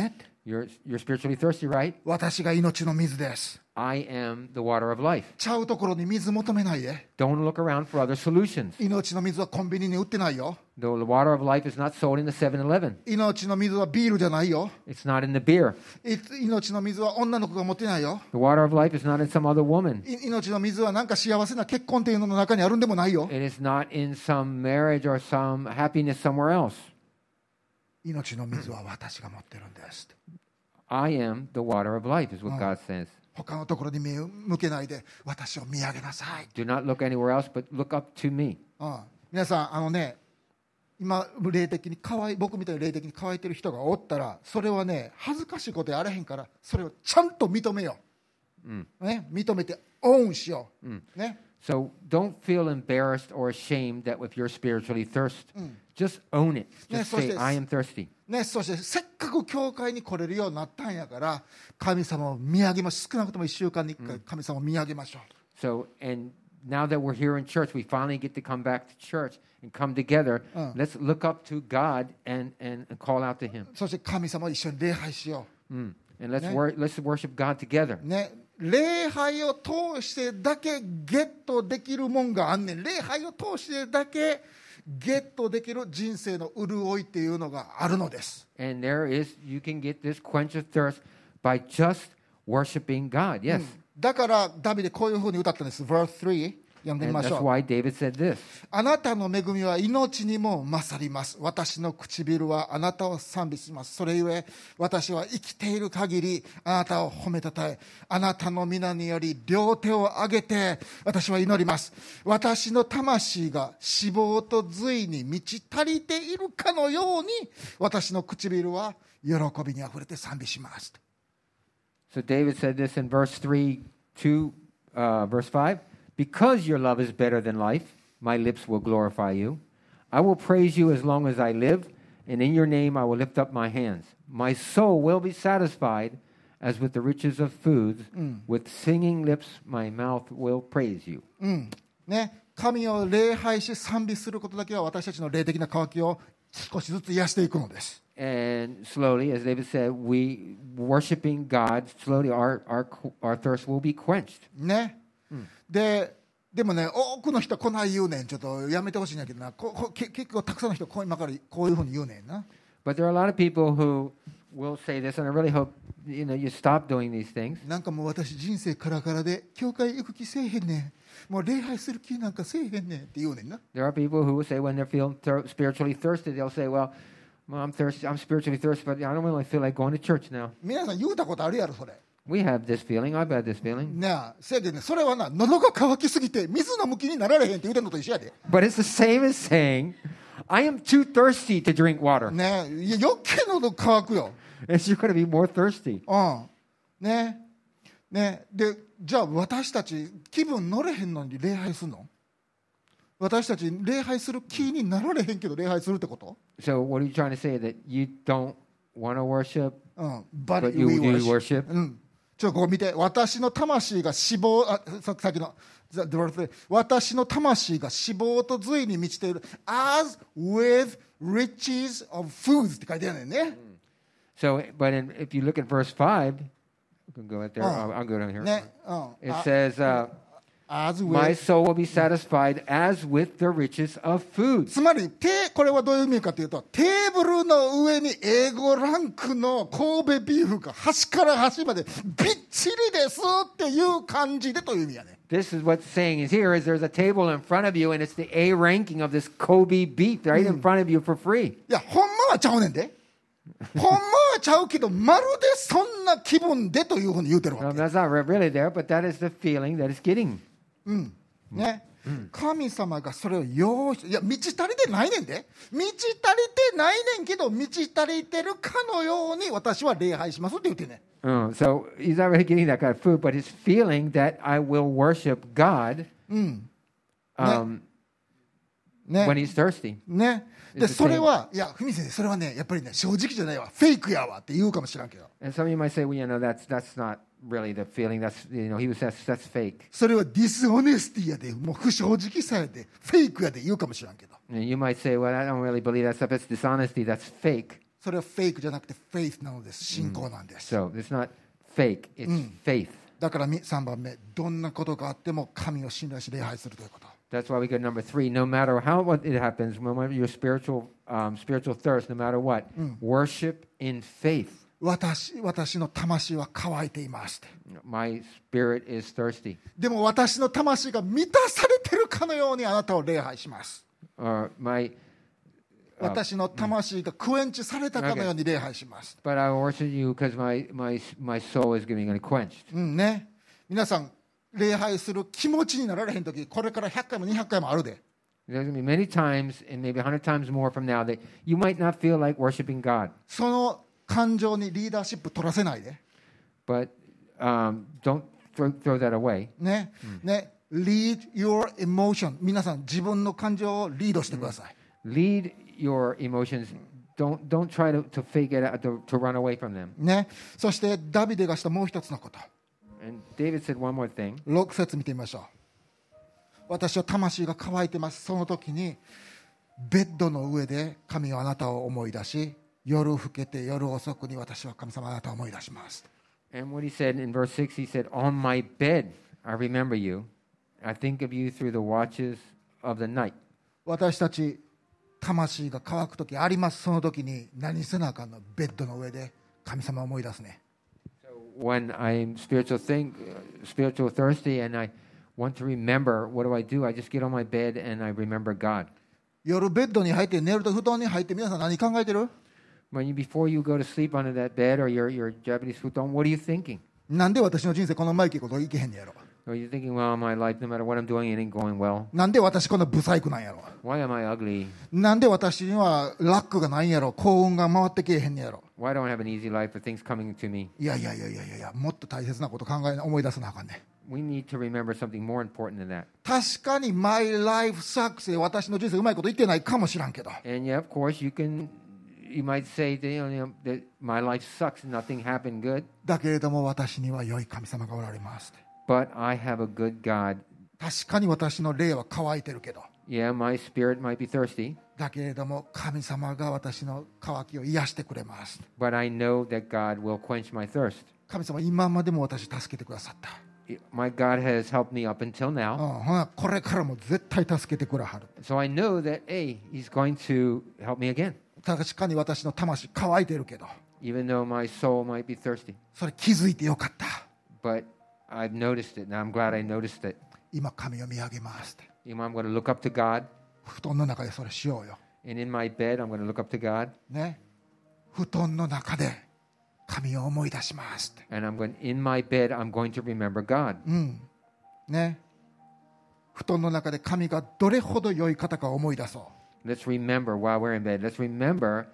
You're spiritually thirsty, right? 私が命の水です。 I am the water of life. ちゃうところに水求めないで。 Don't look around for other solutions. 命の水はコンビニに売ってないよ。 The water of life is not sold in the 7-Eleven. 命の水はビールじゃないよ。 It's not in the beer. 命の水は女の子が持ってないよ。 The water of life is not in some other woman. 命の水はなんか幸せな結婚っていうのの中にあるんでもないよ。 It is not in some marriage or some happiness somewhere else. 命の水は私が持ってるんです。 I am the water of life is what God says. 他のところに目を向けないで私を見上げなさい。 Do not look anywhere else, but look up to me. 皆さん今霊的に僕みたいに霊的に乾いてる人がおったらそれはね恥ずかしいことやあらへんからそれをちゃんと認めよう、ね、認めてオンしよう、ね。 So don't feel embarrassed or ashamed that if you're spiritually thirsty, just own it. Just say, I am thirsty. ね、そしてせっかく教会に来れるようになったんやから神様を見上げましょう。少なくとも1週間に1回神様を見上げましょう。 So, and now that we're here in church, we finally get to come back to church and come together. Let's look up to God and call out to Him. そして神様を一緒に礼拝しよう。 And let's worship God together. ね、礼拝を通してだけゲットできるもんがあんねん。礼拝を通してだけゲットできる人生の潤いっていうのがあるのです。 And you can get this quench of thirst by just worshiping God. Yes. だからダビデこういうふうに歌ったんです。Verse 3読んでみましょう。 That's why David said this. あなたの恵みは命にも勝ります。私の唇はあなたを賛美します。それゆえ私は生きている限りあなたを褒めたたえ、あなたの皆により両手を上げて私は祈ります。私の魂が脂肪と髄に満ち足りているかのように私の唇は喜びにあふれて賛美します。 So David said this in verse 3 to verse 5. Because your love is better than life, my lips will glorify you. I will praise you as long as I live, and in your name I will lift up my hands. My soul will be satisfied as with the riches of foods. With singing lips, my mouth will praise you. ね、神を礼拝し賛美することだけは私たちの霊的な渇きを少しずつ癒していくのです。 And slowly, as David said, we worshiping God, slowly our thirst will be quenched. ね。でもね、多くの人はこない言うねん。ちょっとやめてほしいんやけどな。結構たくさんの人今からこういうふうに言うねんな。 But there are a lot of people who will say this, and I really hope you stop doing these things. なんかもう私人生カラカラで教会行く気せえへんねん。もう礼拝する気なんかせえへんねんって言うねんな。 There are people who will say when they're feeling spiritually thirsty, they'll say, well, I'm spiritually thirsty, but I don't really feel like going to church now. 皆さん言うたことあるやろそれ。 We have this feeling. I've had this feeling. ねえ、せやけどね、それはな、喉が渇きすぎて水の向きになられへんって言うてんのと一緒やで。 But it's the same as saying, I am too thirsty to drink water. ねえ、余計喉渇くよ。 It's you're going to be more thirsty. ねで、じゃあ私たち気分乗れへんのに礼拝するの？私たち礼拝する気になられへんけど礼拝するってこと？ So what are you trying to say? That you don't want to worship, but you we do worship. worship? ちょっとここ見て。私の魂が脂肪、さっきの私の魂が脂肪と髄に満ちている as with riches of foods って書いてあるんだよね。 So, but if you look at verse 5, you can go right there. I'll go down here. ね、 It says, as with my soul will be satisfied as with the riches of food. つまりこれはどういう意味かというと、テーブルの上に A5 ランクの神戸ビーフが端から端までびっちりですっていう感じでという意味やね。 This is what's saying is here is there's a table in front of you and it's the A ranking of this Kobe beef right in front of you for free. いや、ほんまはちゃうねんで。ほんまはちゃうけど、まるでそんな気分でというふうに言うてるわけ。 That's not really there, but that is the feeling that it's getting. ね、神様がそれを用意して、いや満ち足りてないねんで。満ち足りてないねんけど満ち足りてるかのように私は礼拝しますって言ってね。 So he's not really getting that kind of food, but he's feeling that I will worship God when he's thirsty. ね。でそれはいや、文先生それはねやっぱりね正直じゃないわ、フェイクやわって言うかもしれんけど。 And some of you might say, well, that's not really the feeling. That's that's fake. それはディスオネスティやで、もう不正直さやで、フェイクやで言うかもしれんけど。 And you might say, well, I don't really believe that stuff. It's dishonesty. That's fake. それはフェイクじゃなくてフェイスなのです。信仰なんです。 So it's not fake, it's faith. だから3番目、どんなことがあっても神を信頼し礼拝するということ。 That's why we get number 3. No matter what it happens, no matter your spiritual thirst, no matter what, worship in faith. 私の魂は乾いていますって。 My spirit is thirsty. でも私の魂が満たされてるかのようにあなたを礼拝します。 私の魂がクエンチされたかのように礼拝します。 But I worship you because my soul is getting quenched. ね。皆さん、礼拝する気持ちになられへんとき、これから100回も200回もあるで。 There's going to be many times, and maybe 100 times more from now, that you might not feel like worshiping God. その感情にリーダーシップ取らせないで。 But don't throw that away. ね。ね。Lead your emotion. 皆さん、自分の感情をリードしてください。 Lead your emotions. Don't try to fake it out, to run away from them. ね。そしてダビデがしたもう一つのこと。 And David said one more thing. 6節見てみましょう。私は魂が乾いてます。その時にベッドの上で神はあなたを思い出し、夜更けて夜遅くに私は神様あなたを思い出します。 And what he said in verse 6, he said, On my bed I remember you. I think of you through the watches of the night. 私たち魂が乾く時あります。その時に何せなあかんの、ベッドの上で神様を思い出すね。 When I'm spiritual thirsty, and I want to remember, what do? I just get on my bed and I remember God. 夜ベッドに入って寝ると布団に入って皆さん何考えてる？ Before you go to sleep under that bed or your Japanese futon, what are you thinking? なんで私の人生このままいけこといけへんねやろ。 Are you thinking, well, my life, no matter what I'm doing, it ain't going well? なんで私こんなブサイクなんやろ。 Why am I ugly? なんで私にはラックがないんやろ。幸運が回ってけえへんねやろ。 Why don't I have an easy life for things coming to me? いや、もっと大切なこと思い出さなあかんね。 We need to remember something more important than that. 確かに My life sucks で私の人生うまいこといってないかもしらんけど。 And yeah, of course, you might say that, that my life sucks and nothing happened good. だけれども私には良い神様がおられます。 But I have a good God. 確かに私の霊は乾いてるけど。 Yeah, my spirit might be thirsty. だけれども神様が私の渇きを癒してくれます。 But I know that God will quench my thirst. 神様今までも私助けてくださった。 My God has helped me up until now. ほなこれからも絶対助けてくれはる。 So I know that, hey, He's going to help me again. 確かに私の魂乾いてるけど。 Even though my soul might be thirsty. それ気づいてよかった。 But I've noticed it. Now I'm glad I noticed it. 今神を見上げますって。 I'm going to look up to God. 布団の中でそれしようよ。 And in my bed, I'm going to look up to God. ね。布団の中で神を思い出しますって。 And in my bed, I'm going to remember God. ね。布団の中で神がどれほど良い方か思い出そう。 Let's remember while we're in bed. Let's remember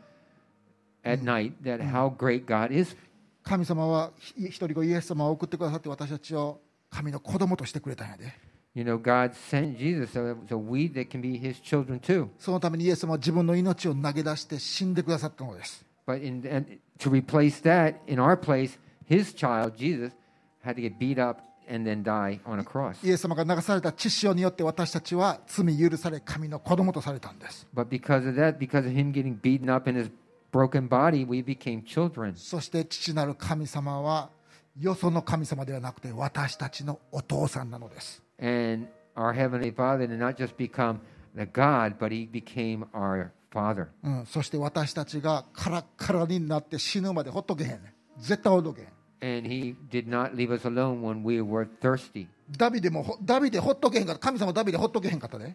at night that how great God is. 神様は一人子イエス様を送ってくださって私たちを神の子供としてくれたんやで。 You know, God sent Jesus so we that can be His children too. そのためにイエス様は自分の命を投げ出して死んでくださったのです。 But to replace that, in our place, His child, Jesus, had to get beat up and then die on a cross. イエス様が流された血潮によって私たちは罪許され神の子供とされたんです。 But because of that, because of Him getting beaten up in His broken body, we became children. そして父なる神様はよその神様ではなくて私たちのお父さんなのです。 And our Heavenly Father did not just become the God, but He became our Father. そして私たちがカラッカラになって死ぬまでほっとけへんね。絶対ほっとけへん。 And He did not leave us alone when we were thirsty. ダビデほっとけへんかった。神様ダビデほっとけへんかったね。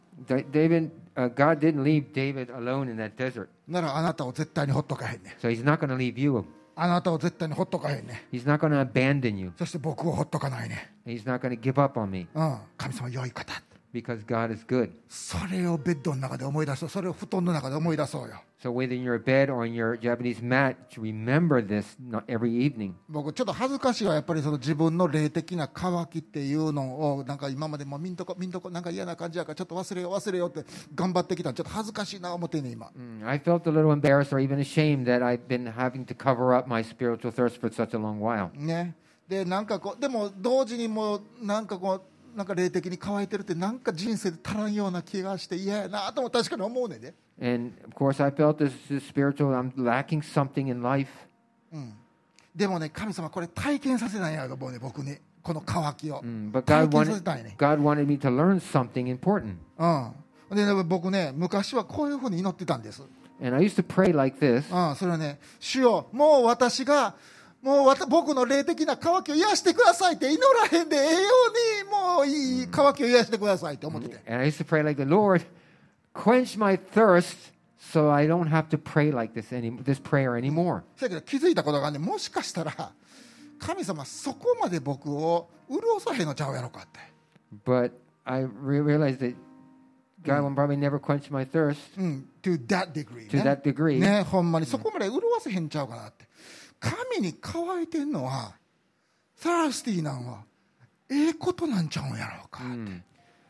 God didn't leave David alone in that desert. ならあなたを絶対にほっとかへんね。 So He's not going to leave you. あなたを絶対にほっとかへんね。 He's not going to abandon you. そして僕をほっとかないね。 He's not going to give up on me 神様良い方。 because God is good. それをベッドの中で思い出そう。それを布団の中で思い出そうよ。 So whether in your bed or in your Japanese mat, to remember this every evening. 僕ちょっと恥ずかしいわ。やっぱりその自分の霊的な渇きっていうのをなんか今までもみんとこなんか嫌な感じやからちょっと忘れよって頑張ってきた。ちょっと恥ずかしいな思ってね今。 I felt a little embarrassed or even ashamed that I've been having to cover up my spiritual thirst for such a long while. ね。でなんかでも同時にもうなんか霊的に乾いてるってなんか人生で足らんような気がして嫌やなとも確かに思うねんで。 And of course, I felt this spiritual, I'm lacking something in life. でもね、神様これ体験させないやろ、僕にこの渇きを、 But 体験させたいね。 God wanted me to learn something important. でね、僕ね、昔はこういうふうに祈ってたんです。 And I used to pray like this. それはね、主よ、もう私が僕の霊的な渇きを癒してくださいって祈らへんでええように、もういい渇きを癒してくださいって思ってて。 And I used to pray like the Lord, quench my thirst so I don't have to pray like this prayer anymore. だけど気づいたことがね、もしかしたら神様そこまで僕を潤さへんのちゃうやろかって。 But I realized that God will probably never quench my thirst. To that degree. To that degree. ね、ほんまにそこまで潤せへんちゃうかなって。神に乾いてんのは、thirsty なんはええことなんちゃうんやろうかって。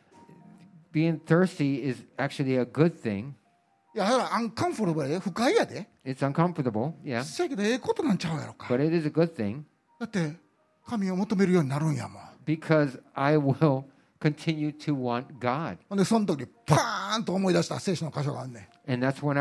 Being thirsty is actually a good thing. いや、だからuncomfortable やで、不快やで。 It's uncomfortable, yeah. せやけどええことなんちゃうやろうか。 But it is a good thing. だって神を求めるようになるんやもん。 Because I will continue to want God. ほんでその時パーンと思い出した聖書の箇所があるね。 And that's when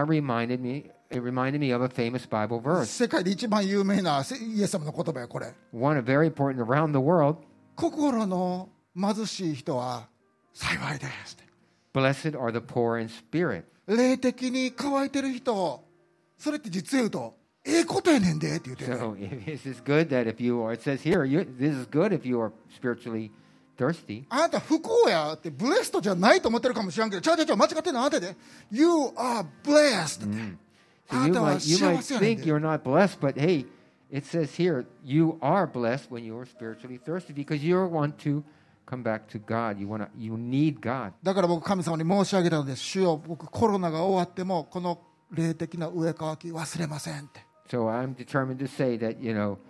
it reminded me of a famous Bible verse. 世界で一番有名なイエス様の言葉やこれ。 One very important around the world. 心の貧しい人は幸いです。 Blessed are the poor in spirit. 霊的に乾いてる人、それって実言うとええことやねんでって言ってる、ね。 So this is good that if you are, it says here, this is good if you are spiritually thirsty. あなた不幸やってブレストじゃないと思ってるかもしれんけど、ちゃう間違ってんのあなたで。You are blessed って。 So you might think you're not blessed, but hey, it says here, you are blessed when you are spiritually thirsty because you want to come back to God. You need God. だから僕神様に申し上げたのです。主よ、僕コロナが終わってもこの霊的な植え替き忘れませんって。 So I'm determined to say that,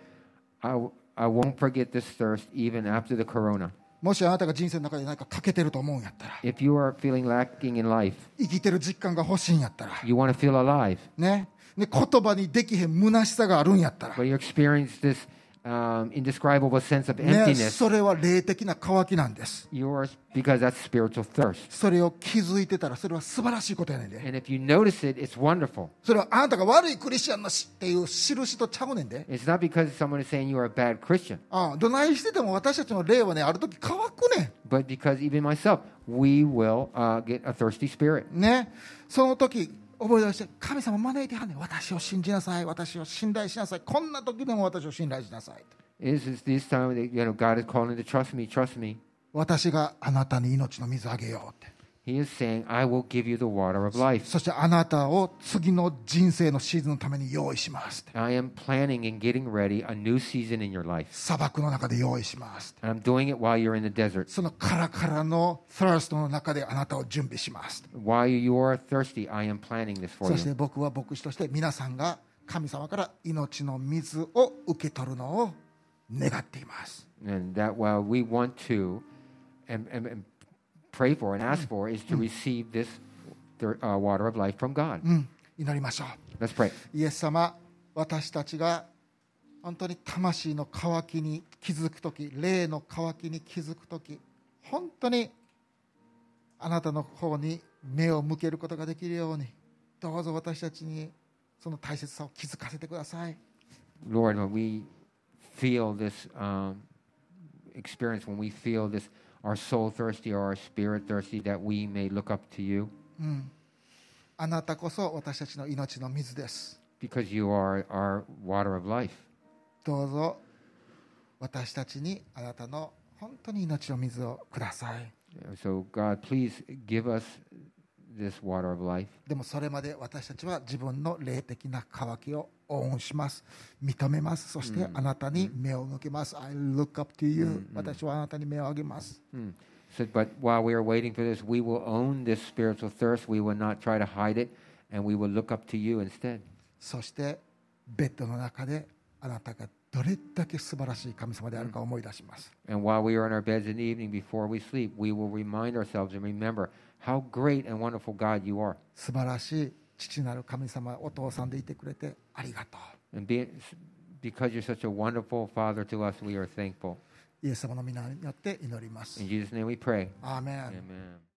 I won't forget this thirst even after the corona. もしあなたが人生の中で何か欠けてると思うんやったら、 If you are feeling lacking in life, 生きてる実感が欲しいんやったら、 you want to feel alive, ね、言葉にできへん虚しさがあるんやったら、 but you experience this indescribable sense of ね、 emptiness, それは霊的な渇きなんです。 because that's spiritual thirst. それを気づいてたらそれは素晴らしいことやねんで。 And if you notice it, it's wonderful. それはあなたが悪いクリスチャンのしっていう印とちゃうねんで。 It's not because someone is saying you are a bad Christian, どないしてても私たちの霊はね、ある時乾くね but because even myself, we will get a thirsty spirit. ん。ね、その時覚え出して、神様招いてはんねん。私を信じなさい、私を信頼しなさい、こんな時でも私を信頼しなさい。 Is this time that God is calling to trust me. 私があなたに命の水あげようって。 He is saying, I will give you the water of life. そしてあなたを次の人生のシーズンのために用意しますって。 I am planning and getting ready a new season in your life. 砂漠の中で用意しますって。 And I'm doing it while you're in the desert. そのカラカラのthirstの中であなたを準備しますって。 While you are thirsty, I am planning this for そして you. 僕は牧師として皆さんが神様から命の水を受け取るのを願っています。 And that while we want to and pray for and ask for is to receive this water of life from God. 祈りましょう。 Let's pray. イエス様、私たちが本当に魂の渇きに気づくとき、霊の渇きに気づくとき、本当にあなたの方に目を向けることができるように、どうぞ私たちにその大切さを気づかせてください。 Lord, when we feel this experience, when we feel this, our soul thirsty or our spirit thirsty, that we may look up to you. あなたこそ私たちの命の水です。 Because you are our water of life. どうぞ私たちにあなたの本当に命の水をください。 So God, please give us this water of life. でもそれまで私たちは自分の霊的な渇きを応援します。認めます。そしてあなたに目を向けます。I look up to you. 私はあなたに目を上げます。 So, but while we are waiting for this, we will own this spiritual thirst. We will not try to hide it, and we will look up to you instead. そしてベッドの中であなたがどれだけ素晴らしい神様であるか思い出します。 And while we are in our beds in the evening before we sleep, we will remind ourselves and remember how great and wonderful God you are. 素晴らしい父なる神様、お父さんでいてくれてありがとう。 And because you're such a wonderful Father to us, we are thankful. イエス様の皆によって祈ります。 In Jesus' name we pray. アーメン。 Amen.